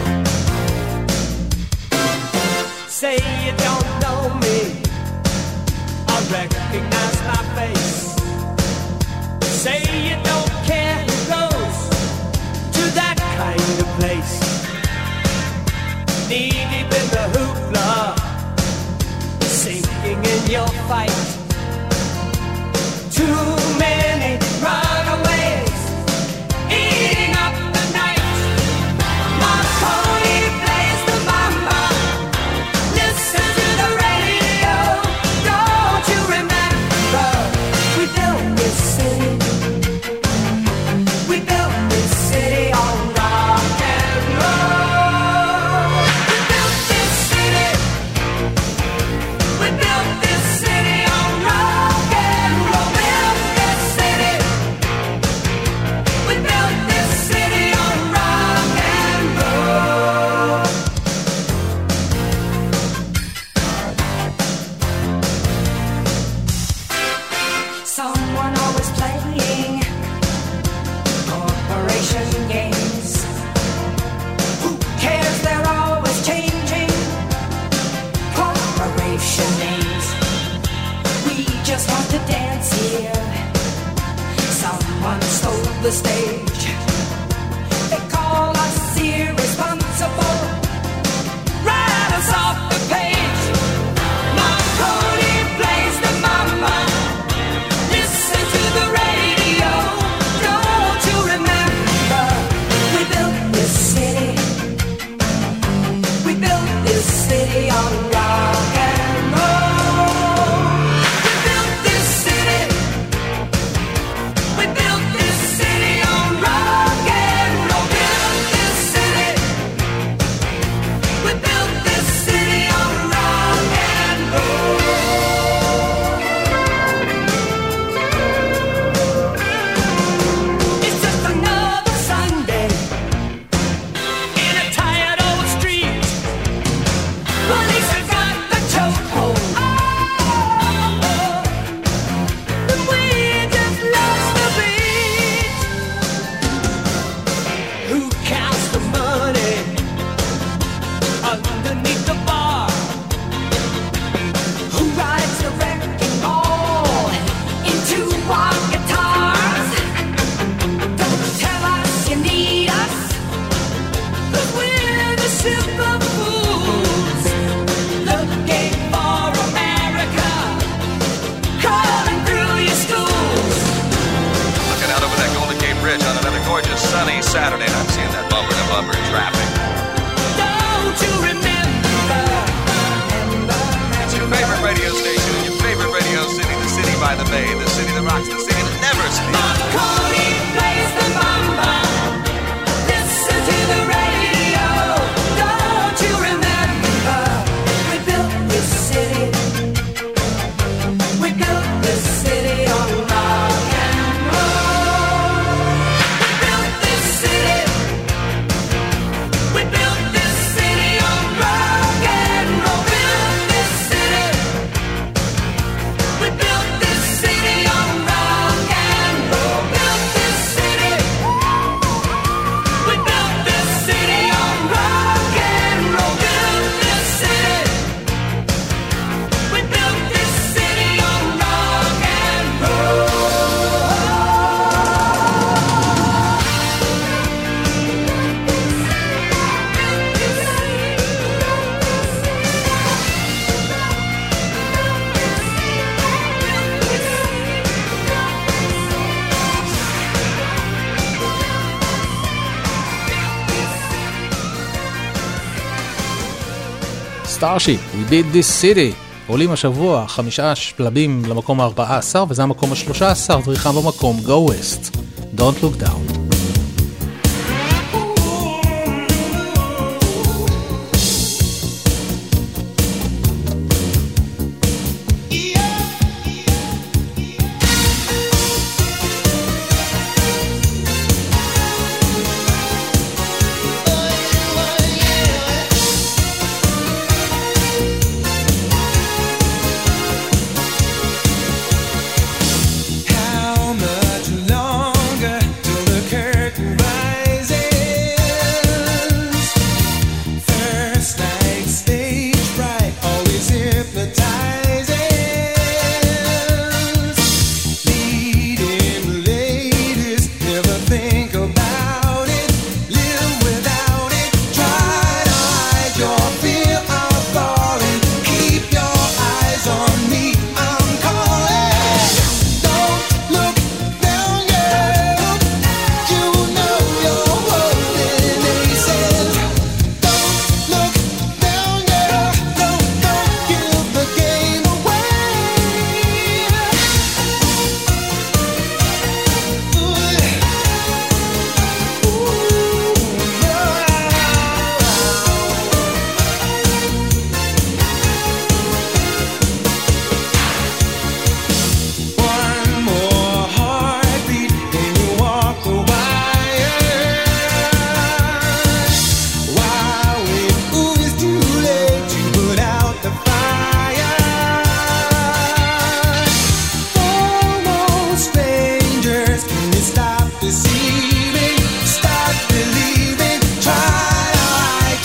Say you don't know me, recognize my face. Say you don't care who goes to that kind of place. Knee deep in the hoopla, sinking in your fight. Too many runaways eating up the night. Marconi plays the mama. Listen to the radio. Don't you remember we built this city? We built this city on rock and roll. We built this city. We built this city on rock and roll. Built this city. We built this city on rock and roll. Someone always playing corporation games. Who cares? They're always changing corporation names. We just want to dance here. Someone stole the stage. They call us irresponsible. Write us off the page. Marconi plays the mama. Listen to the radio. Don't you remember we built this city? We built this city on rock and roll. We built this city. We built this city on rock and roll. Built this city. We built this city on rock and roll. It's just another Sunday in a tired old street. Police have got the chokehold. And we just lost the beat. Who counts the money underneath the bar? Who rides the wrecking ball into our guitars? Don't tell us you need us, 'cause we're the super fools looking for America, crawling through your schools. Looking out over that Golden Gate Bridge on another gorgeous sunny Saturday, and I'm seeing that bumper to bumper traffic. Don't you remember? It's your favorite radio station in your favorite radio city, the city by the bay, the city that rocks, the city that never sleeps. Marconi plays the mama. Listen to the radio. Don't you remember we built this city? We built this city on rock and roll. We built this city. We built this city on rock and roll. Built this city. We built this city on rock and roll. Built this city. We built this city on rock and roll. Built this city. We built this city on rock and roll. סטארשיפ, We Did This City. עולים השבוע 5 שלבים למקום ה-14, וזה המקום ה-13, דריכה במקום Go West, Don't Look Down. How much longer till the curtain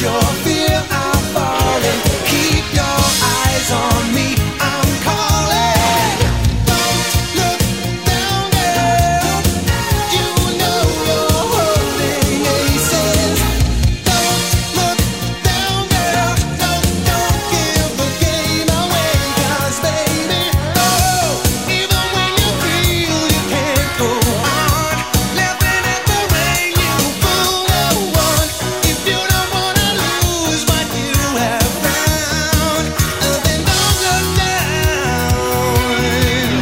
your fear, I'm falling. Keep your eyes on me, I'm calling. Don't look down, girl. You know you're holding aces. Don't look down, girl. Don't give the game away, 'cause baby, oh, even when you feel you can't go on, laughing at the way you fool no one. If you don't wanna lose what you have found, then don't look down.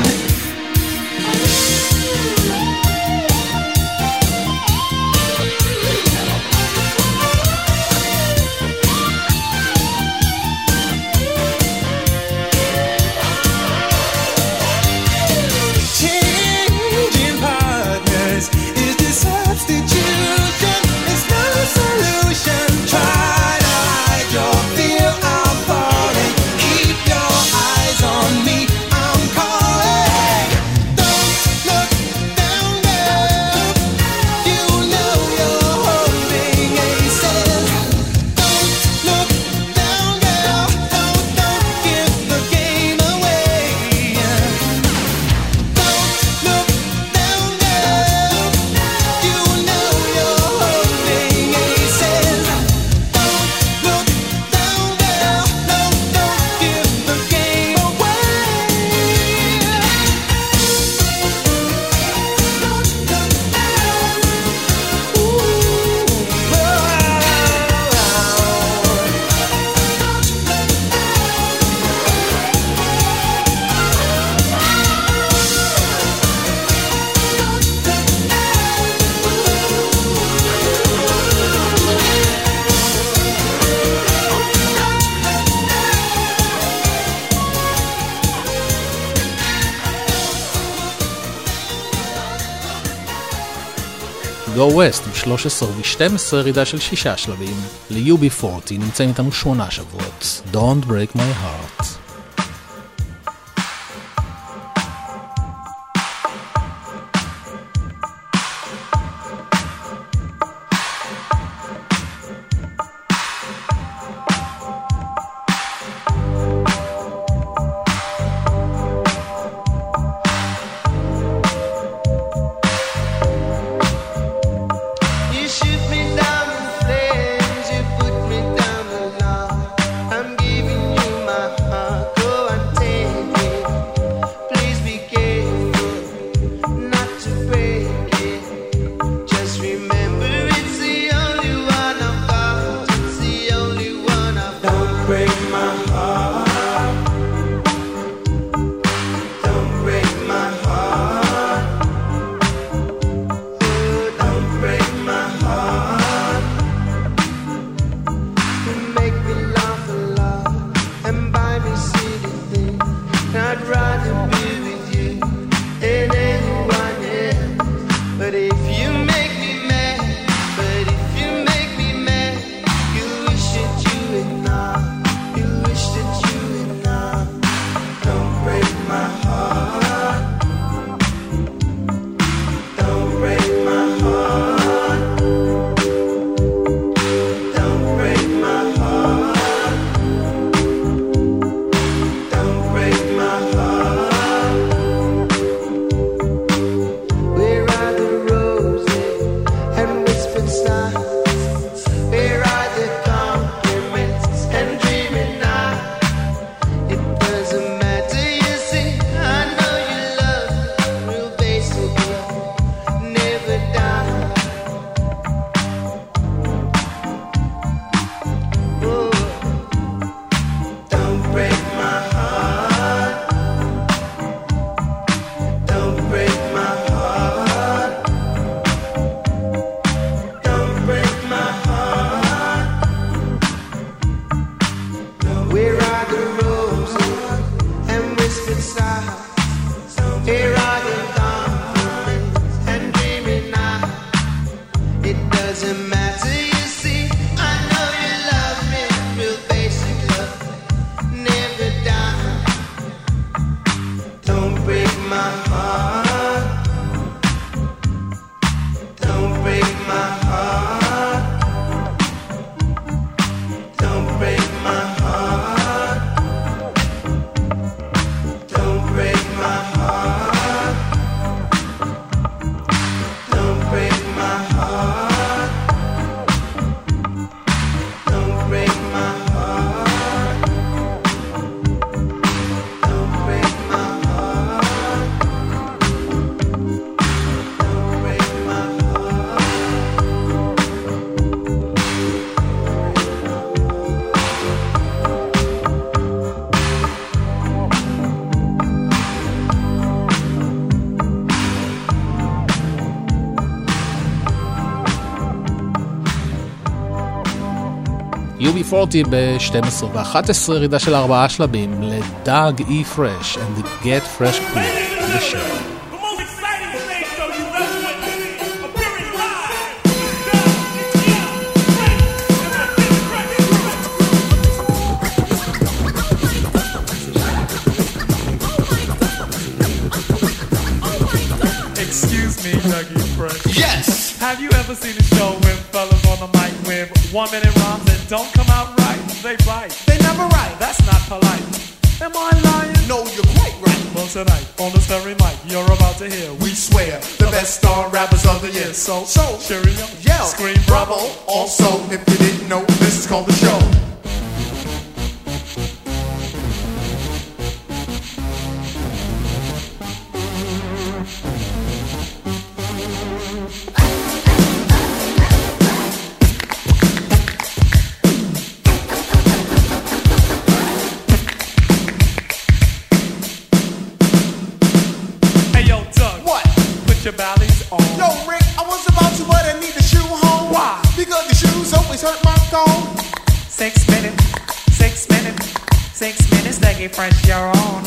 Changing partners is the substitution. It's no solution. Try to hide your fear, I'm falling. Keep your eyes on me, I'm calling. Don't look down, girl. You know you're holding aces. Don't look down, girl. Don't give the game away. Don't look down, girl. You know you're holding aces. Don't look down, girl. Don't give the game away. Go West עם 13 ו-12 ירידה של 6 שלבים. ל-UB40 נמצאים איתנו 8 שבועות. Don't break my heart. You shoot me down in flames, you put me down the line. I'm giving you my heart. UB40 ב-12 ו-11, ירידה של 4 שלבים לדאג אי פרש and the Get Fresh Crew בשם. Excuse me, Dougie Fresh. Yes! Have you ever seen a show with fellas on the mic with 1 minute rhymes that don't come out right? They write. They never write. That's not polite. Am I lying? No, you're quite right. Well, tonight, on this very mic, you're about to hear. We swear, the best star rappers of the year. So, cheerio, yell, scream, bravo. Also, if you didn't know, this is called the show. Your bally's on. Yo, Rick, I was about to, but I need the shoe home. Why? Because the shoes always hurt my thumb. 6 minutes, 6 minutes, 6 minutes, Dougie Fresh, you're on.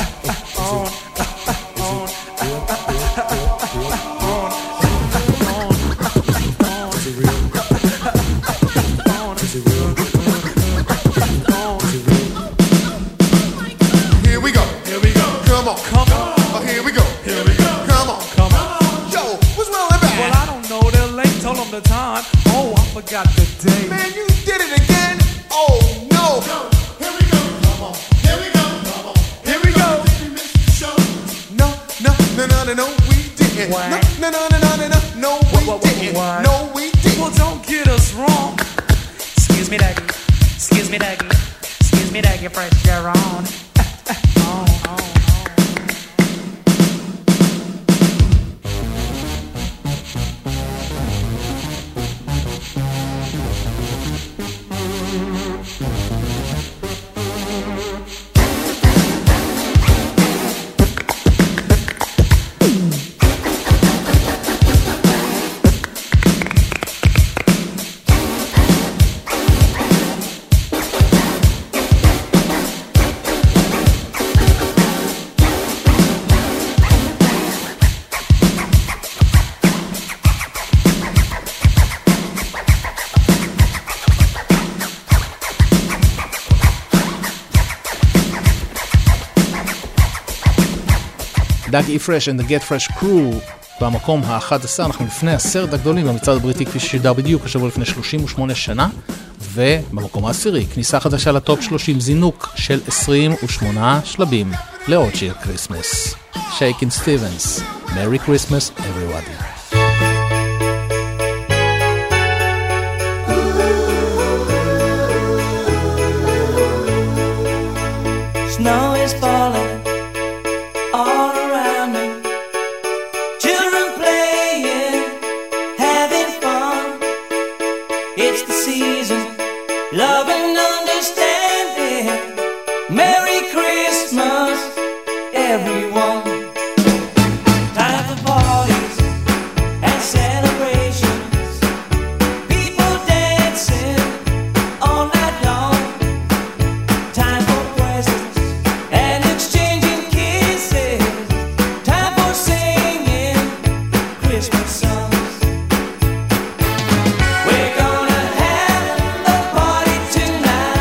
Here we go. Here we go. Come on. Come on. Oh, here we go. Here we go. Come on. Come on. Yo, what's well and bad? Well, I don't know, they're late, told them the time. Oh, I forgot the day. Man, you did it again? Oh, no. Here we go. Come on. Here we go. Come on. Here we go. No, we didn't. What? No, we didn't. What? No, we didn't. Well, don't get us wrong. Excuse me, Dougie. Excuse me, Dougie. Excuse me, Dougie Fresh, you're on. דאג אי פרש and the Get Fresh Crew במקום ה-11. אנחנו לפני 10 הגדולים במצעד הבריטי כפי ששודר בדיוק השבוע לפני 38 שנה, ובמקום העשירי כניסה חדשה לטופ 30, זינוק של 28 שלבים לעוד שיר קריסמס, שייקין סטיבנס, Merry Christmas everybody. Snow is falling all around me. Children playing, having fun. It's the season, love and understanding. Merry Christmas, everyone. Time for parties and celebrations. People dancing all night long. Time for presents and exchanging kisses. Time for singing Christmas songs. We're gonna have a party tonight.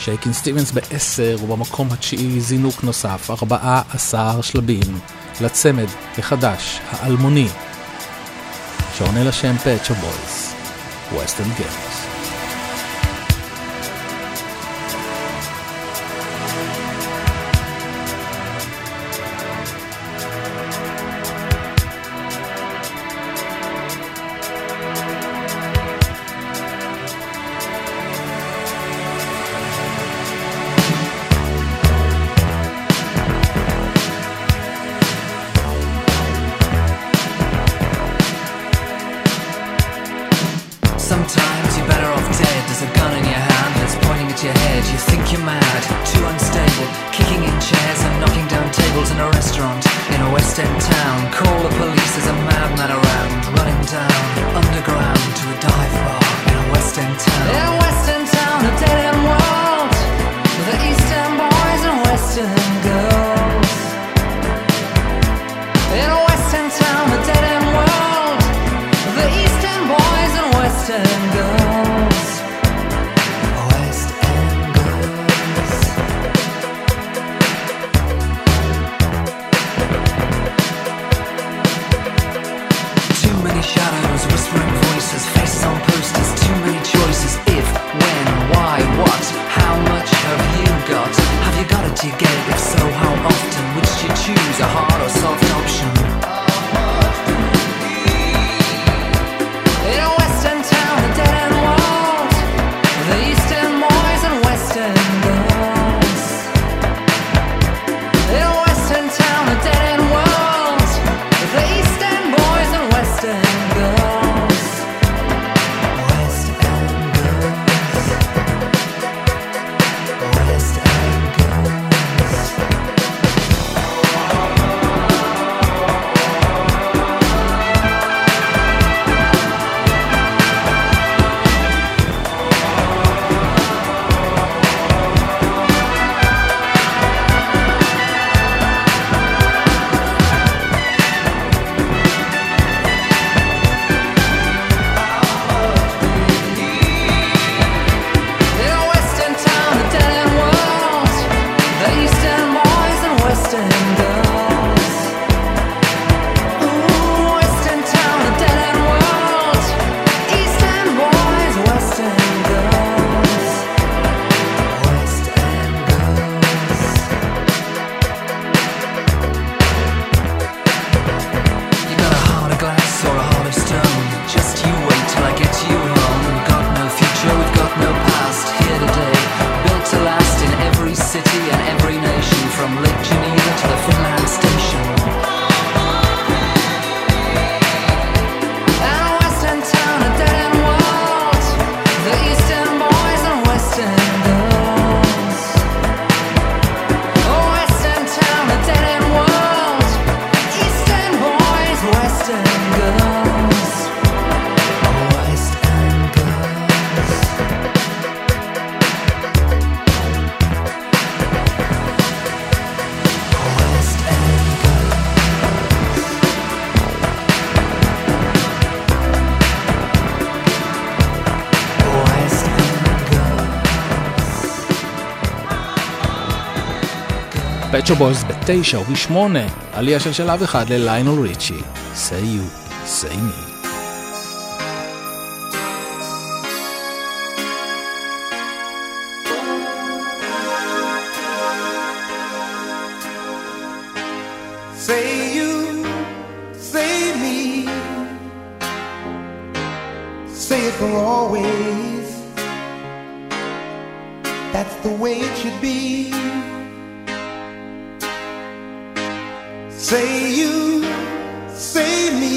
שייקין סטיבנס ב-10 ובמקום התשיעי זינוק נוסף, 14 שלבים לצמד החדש, האלמוני, שעונה לשם Pet Shop Boys, Western Girls. Sometimes you're better off dead. There's a gun in your hand that's pointing at your head. You think you're mad, too unstable, kicking in chairs and knocking down tables in a restaurant in a West End town. Call the police, there's a madman around, running down underground to a dive bar in a West End town. In a West End town, a dead end world, with the East End boys and West End girls. In a West End town, a dead end world, with the East End boys and West End girls. West End girls. Too many shadows, whispering voices, faces on posters, too many choices. If, when, why, what, how much have you got? Have you got it, do you get it? If so, how often? Which do you choose, a hard or soft option? In a West End town, a dead end world, the East End boys and West End girls. In a West End town, a dead end world, the East End boys and West End girls. West End girls. West End girls. In a West End town, a dead end world, the East End boys and West End girls. Ooh, West End town, a dead end world, East End boys, West End girls. West End girls. You got a heart of glass or a heart of stone. Just you wait till I get you home. We've got no future, we've got no past. Here today, built to last in every city and every nation, from Lake Geneva to the Finland station. And a West End town, a dead end world, the East End boys and West End girls. Oh, West End town, a dead end world, East End boys, West End girls. West End girls. West End girls. West End girls. Pet Shop Boys ב-9 וב-8, עלייה של שלב אחד לליונל ריצ'י, Say You, Say Me. Say you, say me, say it for always. That's the way it should be. Say you, say me,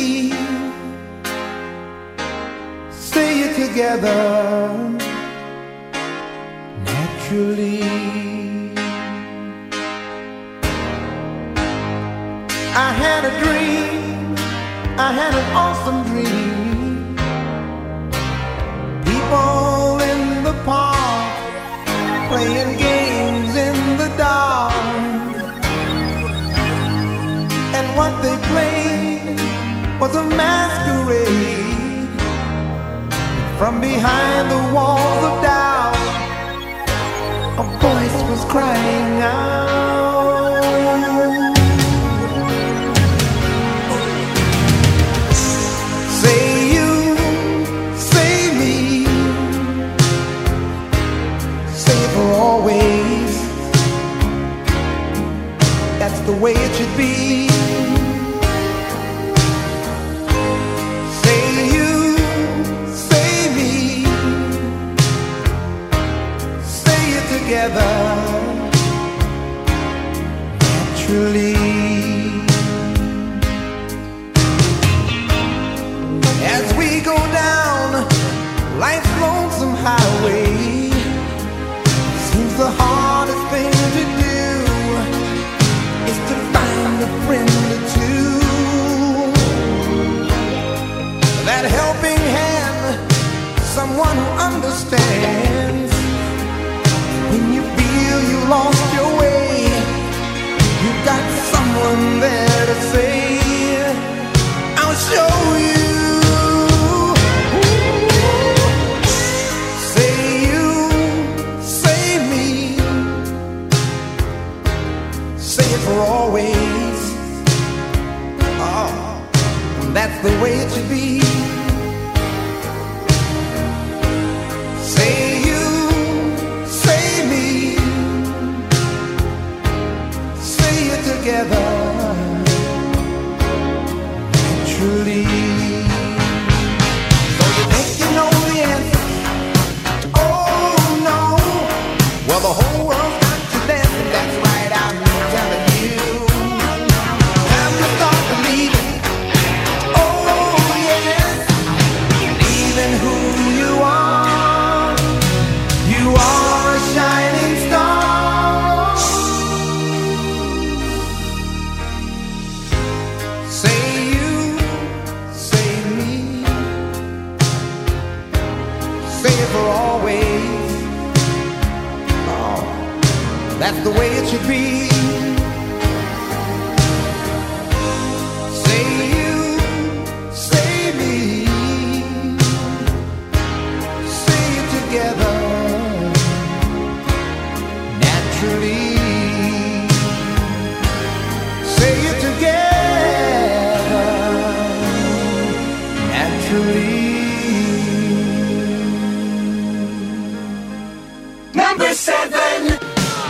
say it together naturally. I had a dream, I had an awesome dream. People in the park playing games in the dark, and what they played was a masquerade from behind the walls of doubt. A was crying out. Say you, say me, say it for always. That's the way it should be. Say you, say me, say it together, naturally. As we go down life's lonesome highway, seems the hardest thing to do is to find a friend or two. That helping hand, someone who understands. When you feel you lost your way, you've got someone there to say, I'll show you. Say you, say me, say it for always. Oh, that's the way it should be. Say you, say me, say it together, naturally. So you think you know the answer? Oh no. Well, the whole world's got to dance, and that's right, I'm telling you. Time to start believing. Oh yes, believing who you are. You are a shining star. Say you, say me, say it for always. Oh, that's the way it should be. Say you, say me, say it together, naturally. Say it together, naturally. Number 7.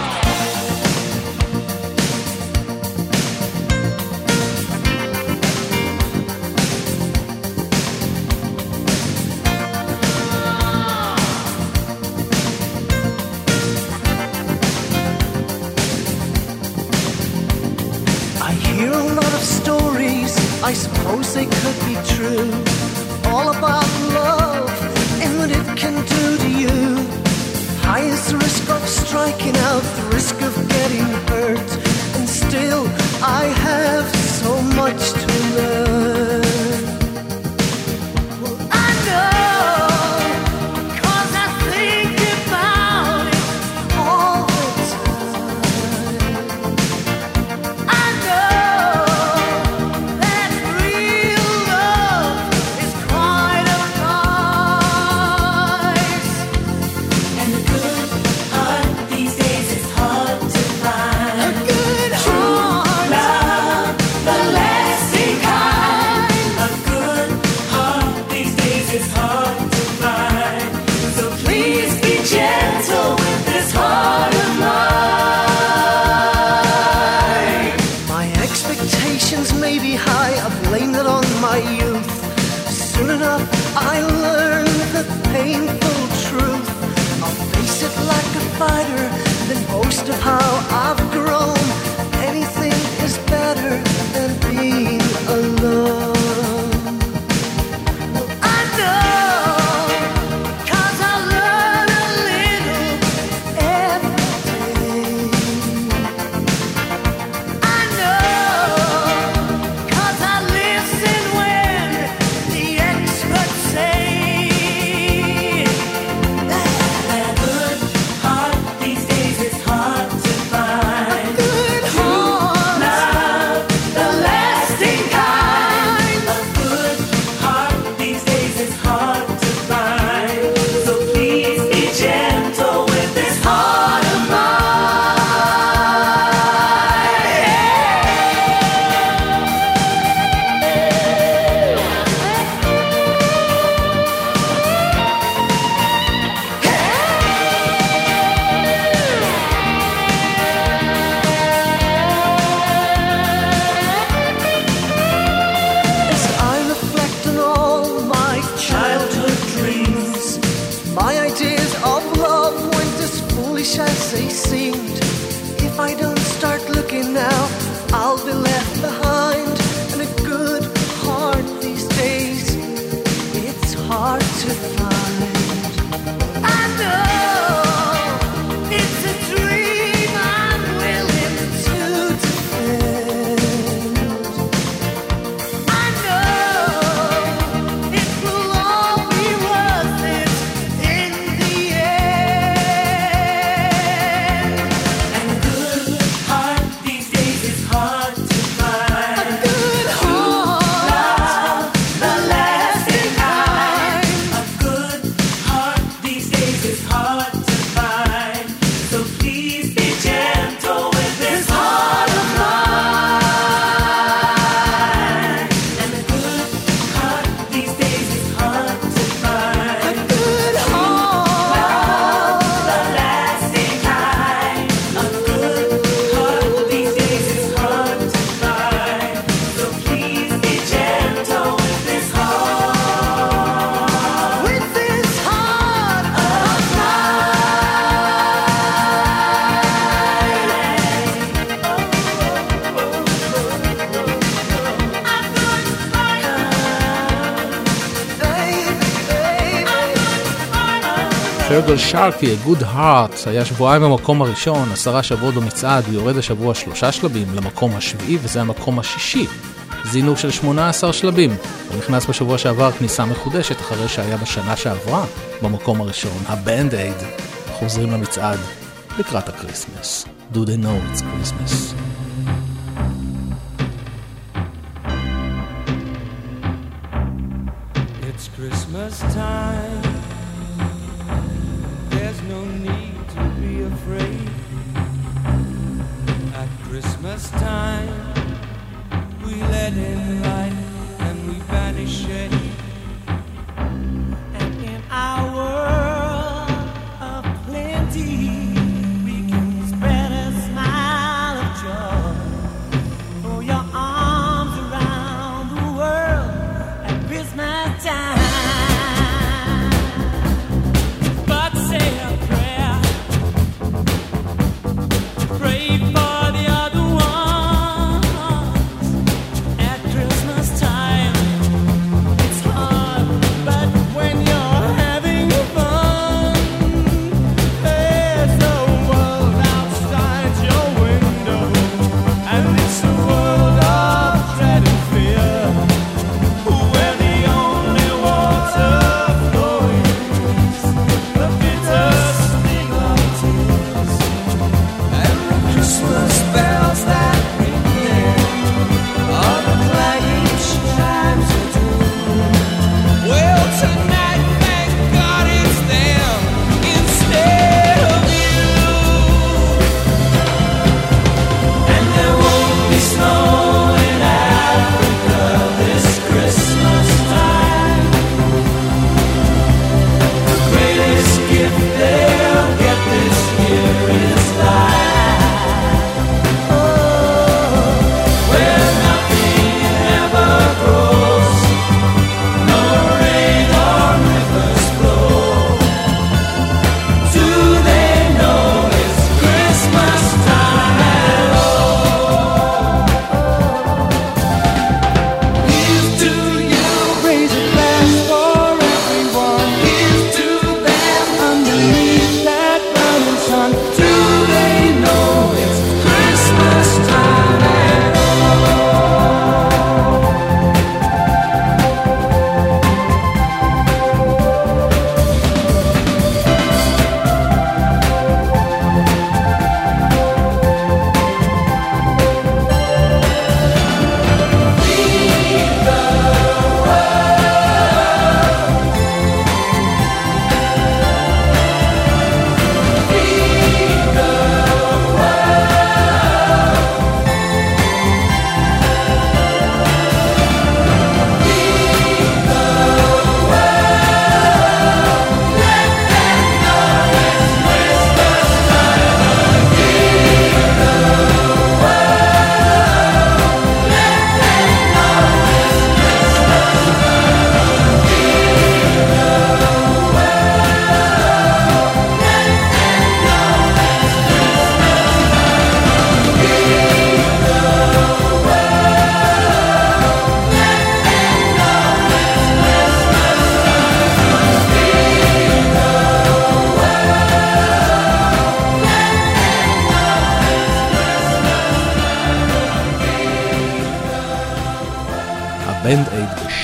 I hear a lot of stories, I suppose they could be true, all about love and what it can do to you. High is the risk of striking out, the risk of getting hurt, and still I have so much to learn. Well, I know, 'cause I think about it all the time. I know that real love is quite a price. And the good heart these days is of love weren't as foolish as they seemed. If I don't start looking now, I'll be left behind. And a good heart these days, it's hard to find. I know it's a dream I'm willing to defend. I know it will all be worth it in the end. And a good heart these days is hard to find. A good heart, the lasting kind. A good heart these days is hard to find. So please be gentle with this heart of mine. And a good heart these days is hard to find. A good heart, The lasting kind. A good heart these days is hard to find. So please be gentle with this heart. with this heart of פרגל שרקי, Good Heart, היה שבועיים במקום הראשון, 10 שבועות במצעד, יורד השבוע 3 שלבים למקום השביעי, וזה המקום השישי. זינוק של 18 שלבים. הוא נכנס בשבוע שעבר כניסה מחודשת אחרי שהיה בשנה שעברה במקום הראשון. הבנד אייד חוזרים למצעד לקראת הקריסמס. Do they know it's Christmas? It's Christmas time. There's no need to be afraid. At Christmas time, we let in light and we banish shade. And in our world of plenty, we can spread a smile of joy. Throw your arms around the world at Christmas time. But say a prayer, pray for the other one.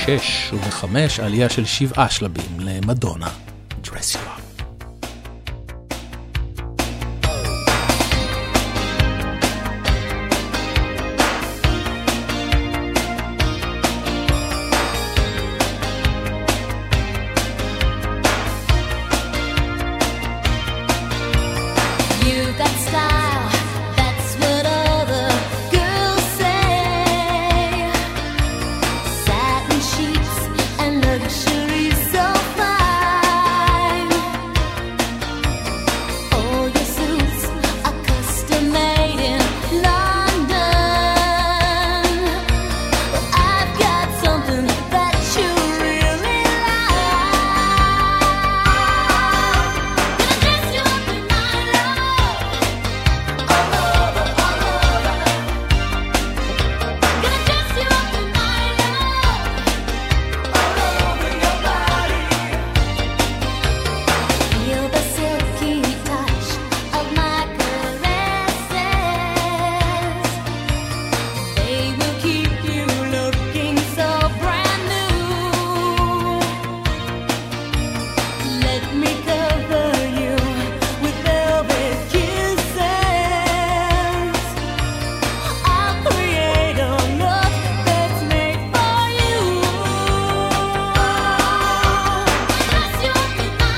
6 וב-5 עלייה של 7 שלבים למדונה, Dress You Up. You got style, that's what other girls say. Satin sheets and luxury so fine. All your suits are custom made in London. But I've got something that you really like. Gonna dress you up in my love. Feel the silky touch of my caresses. They will keep you looking so brand new. Let me cover you with velvet kisses. I'll create a look that's made for you. Dress you up in my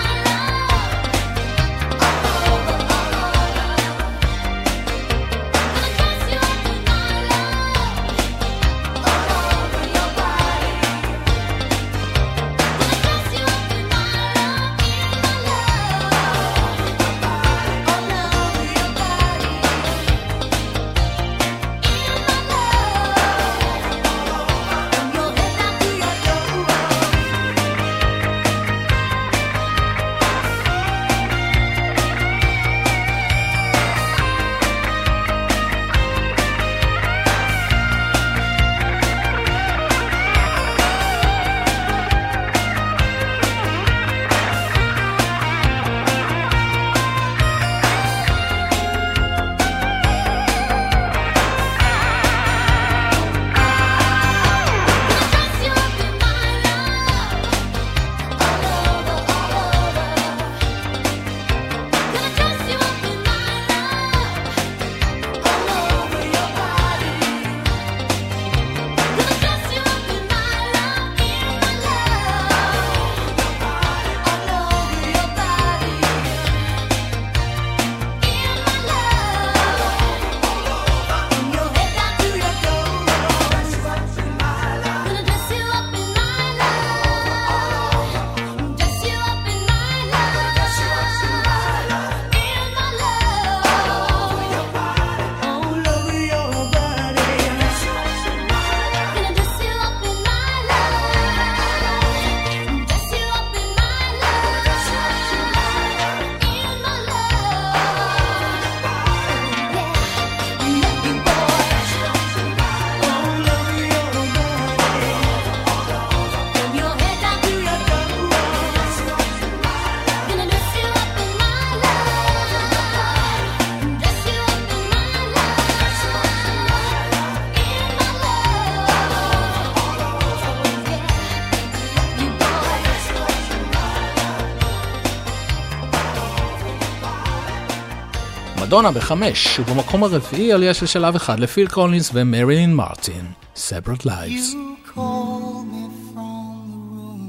מדונה ב5 ובמקום הרביעי עלייה של שלב אחד לפיל קולינס ומרילין מרטין, Separate Lives. You call me from the room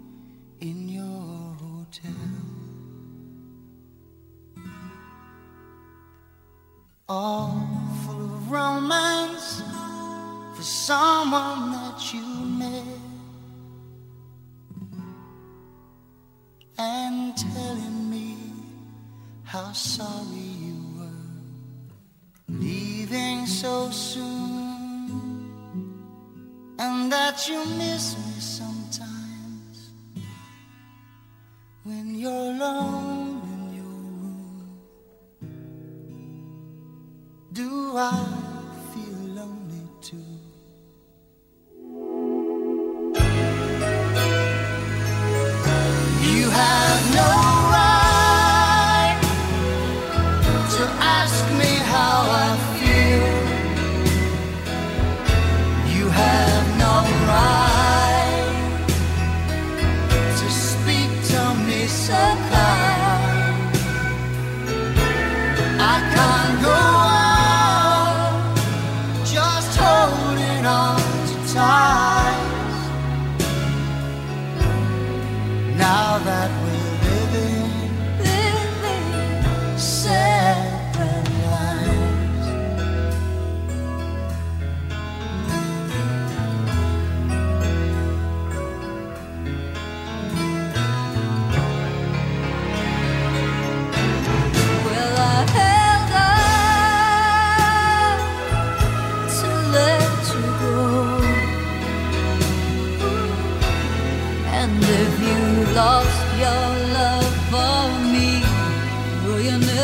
in your hotel, all full of romance for someone that you met, and telling me how sorry you were leaving so soon, and that you miss me sometimes when you're alone in your room. Do I feel lonely too? You have no right to ask me how I feel. You have no right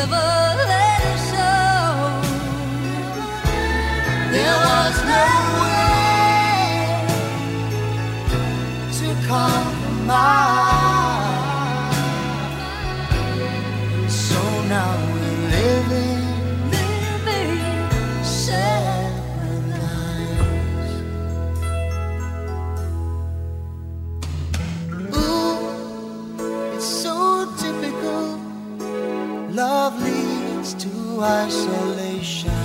never let it show. There was no way to compromise. So now we're living separate lives. Ooh, it's so typical. Love leads to isolation.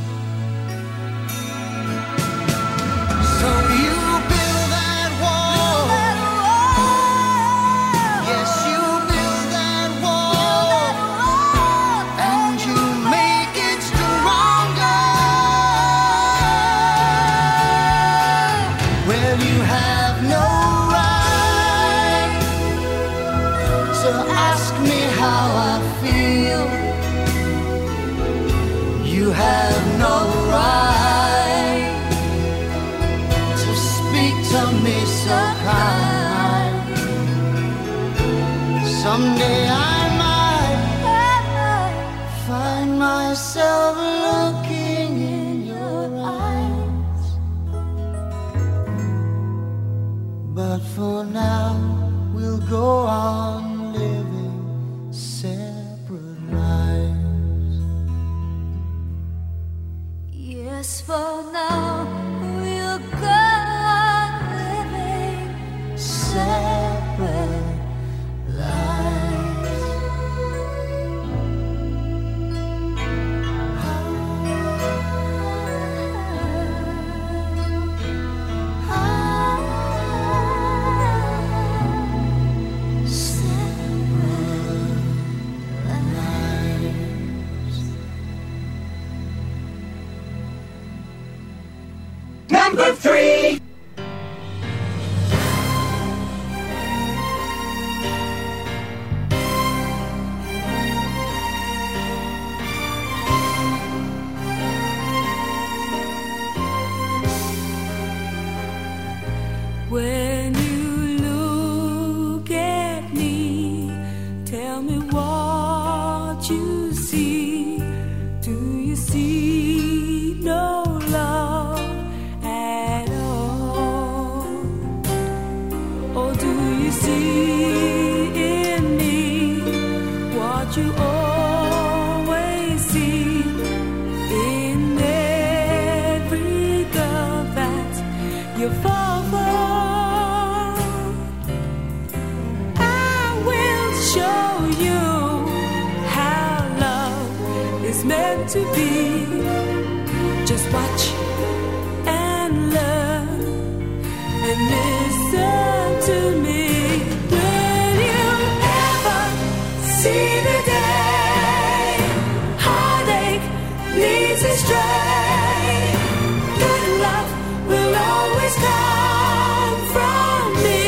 So you build that wall. Yes, you build that wall. And you make it stronger. Well, you have no right to ask me how I feel. You have no right to speak to me so kind. Someday I might find myself looking in your eyes. But for now, we'll go on living separate lives. Yes, for now, we'll go on living separate lives. Number 3. When you look at me, tell me what you see. Do you see no love at all? Or do you see in me what you always see in every girl that you fall for? I will show you how love is meant to be. Just watch and learn and listen to me. Will you ever see the day heartache leads astray? Good love will always come from me.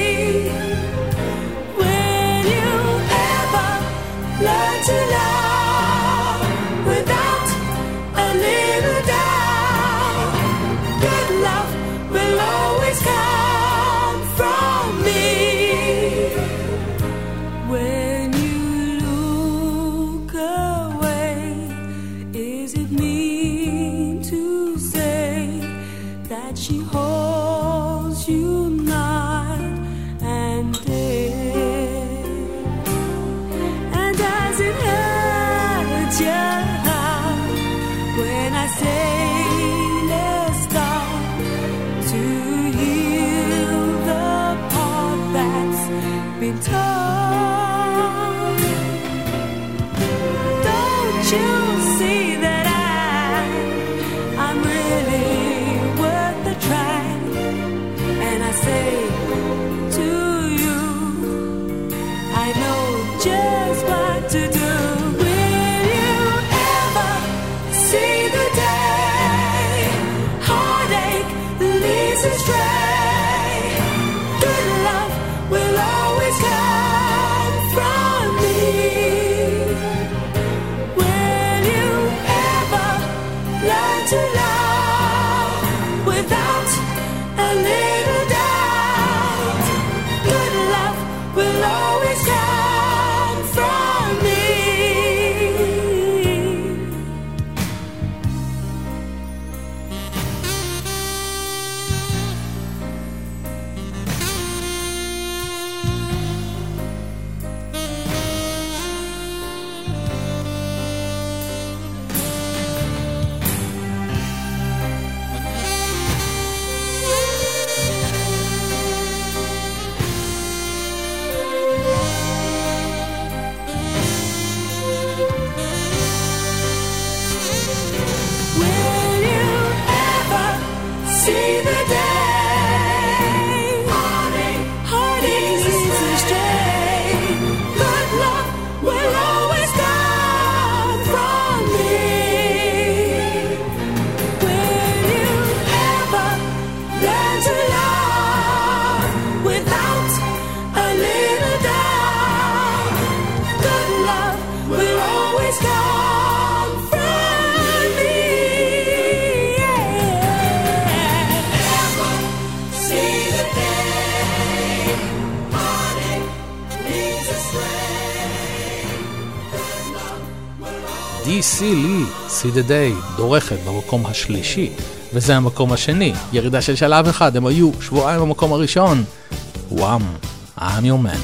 Will you ever learn to love without a little doubt? Good love will always come from me. When you look away, is it mean to say that she holds you night and day? And does it hurt your heart when I say let's start to heal the part that's been torn? Don't you see that I'm really worth the try? And I say to you, I know just what to do. Will you ever see the day heartache leads astray? Good love will always come from me. Will will always comfort me. Never see the day heartache leads astray. DC לי, See the Day, דורכת במקום השלישי, וזה המקום השני, ירידה של שלב אחד, הם היו שבועיים במקום הראשון. וואם, I'm your man.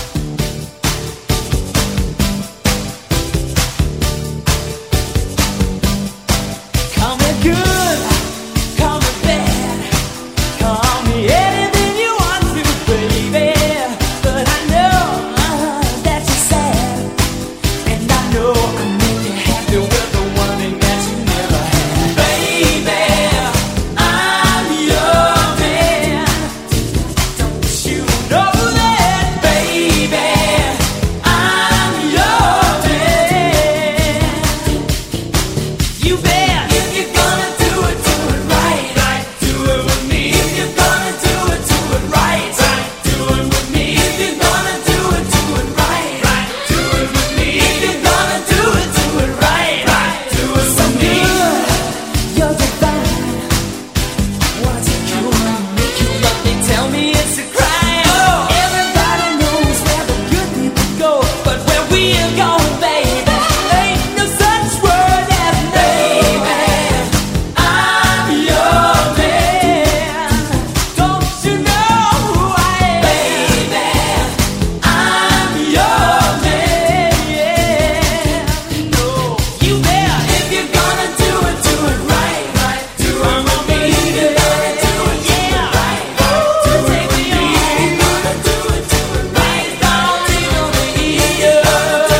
Call me good, call me bad, call me anything you want to, baby. But I know that you're sad, and I know I make you happy with the one thing that you never had. Baby, I'm your man. Don't you know that, baby? I'm your man. You bet. If you're gonna do it right. Do it with me. If you're gonna do it right. Do it with me. If you're gonna do it right. Do it with me. If you're gonna do it right. Do it with me. You're divine. What's it gonna make you love me? Tell me it's a crime. Everybody knows where the good people go, but where we're going, baby, ain't no such word as baby. I'm your man. Don't you know who I am? Baby, I'm your man. No, you bet. If you're gonna do it right. Do it with me. If you're gonna do it right. Do it with me. If you're gonna do it right. Don't even be here. Do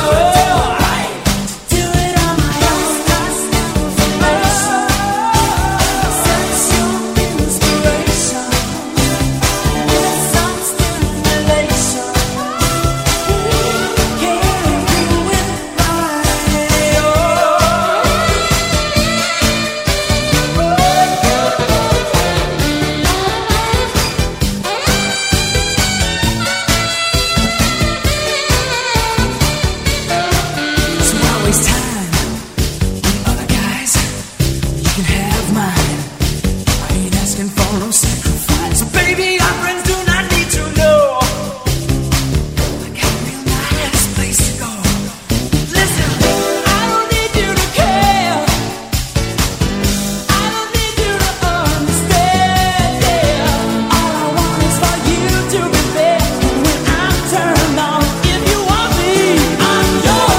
it on my own. Such your inspiration. Some stimulation. Can't do it So I waste time with other guys. You can have mine. I ain't asking for no sacrifice. So baby, our friends do not need to know. I got a real nice place to go. Listen, I don't need you to care. I don't need you to understand. Yeah. All I want is for you to be there when I'm turned on. If you want me, I'm your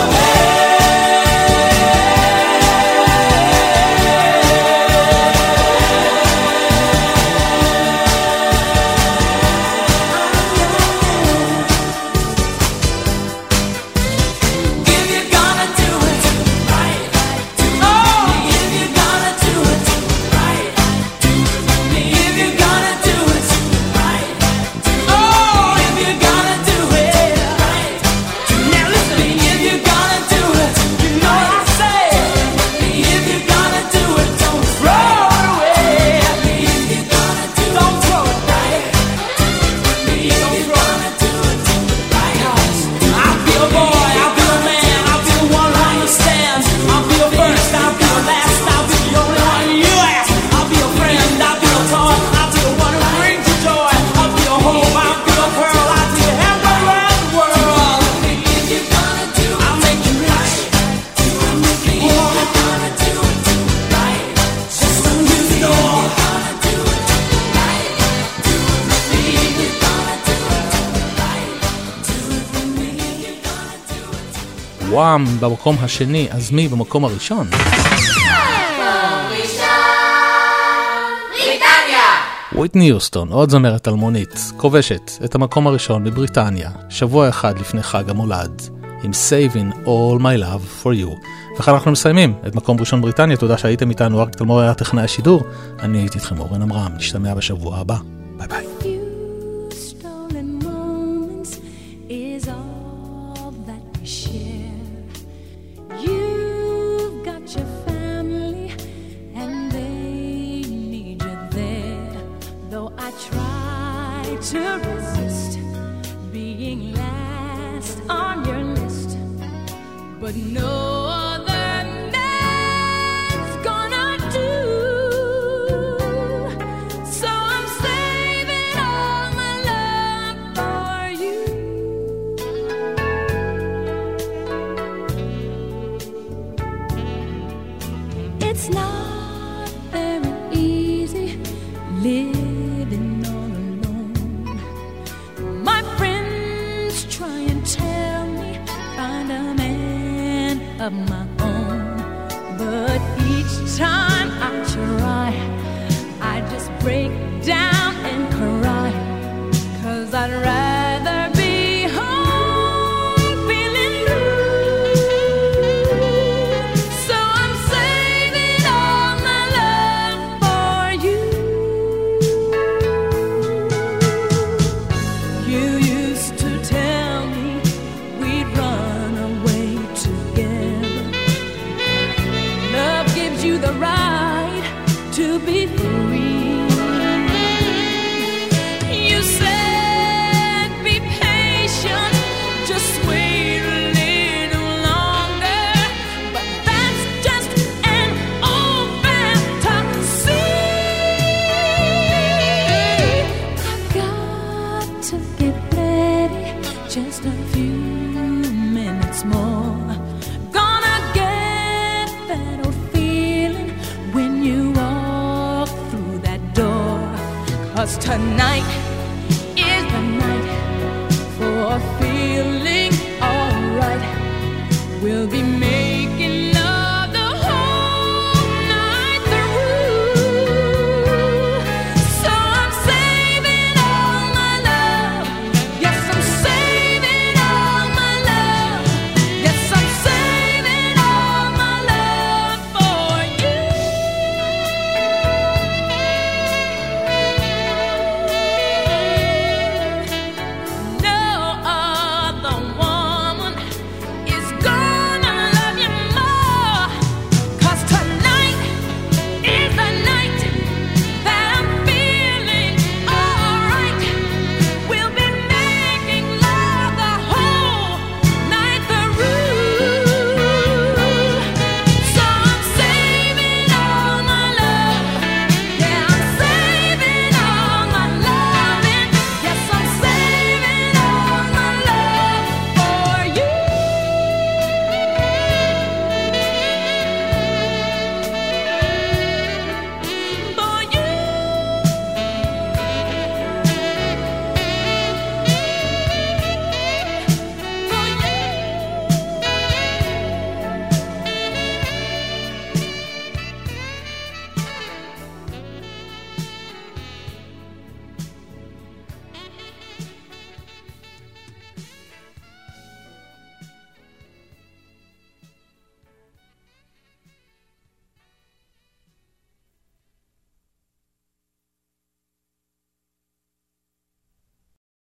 If you're gonna do it right, do it with me. If you're gonna do it right, do it with me. If you're gonna do it right, if you're gonna do it right. Now listen to me. If you're gonna do it, you know what I say. If you're gonna do it, don't throw it away. If you're gonna do it, don't throw it right. Don't throw it right. I'll be a boy, I'll be a man, I'll be the one who understands. I'll be your first, I'll be your last, I'll be the only one you ask. I'll be your friend, I'll be your toy, I'll be the one who brings you joy. I'll be your hope, I'll be your pearl, I'll be your halfway around the world. If you're gonna do it, I'll make you rich. I'll make you poor. If you're gonna do it right, just so you know. If you're gonna do it right, do it with me. If you're gonna do it right, do it with me. If you're gonna do it וואם במקום השני, אז מי במקום הראשון? וויטני יוסטון, עוד זמרת אלמונית, כובשת את המקום הראשון בבריטניה, שבוע אחד לפני חג המולד, עם Saving All My Love For You. וכאן אנחנו מסיימים את מקום ראשון בריטניה, תודה שהייתם איתנו, אריק תלמור היה טכנאי השידור, אני הייתי איתכם אורן אמרם, נשתמע בשבוע הבא, ביי ביי. Stolen moments is all that we share. You've got your family and they need you there. Though I try to resist being last on your list, but what no other man's gonna do. So I'm saving all my love for you. It's not very easy living all alone. My friends try and tell me find a man of my own, but each time I try, I just break down and cry, 'cause I'd rather be home feeling blue. So I'm saving all my love for you. You used to tell me we'd run away together. Love gives you the right to be free. You said be patient, just wait a little longer, but that's just an old fantasy. I've got to get ready, just a few minutes more. Gonna get that old feeling when you walk through that door. 'Cause tonight is the night for feeling alright. We'll be made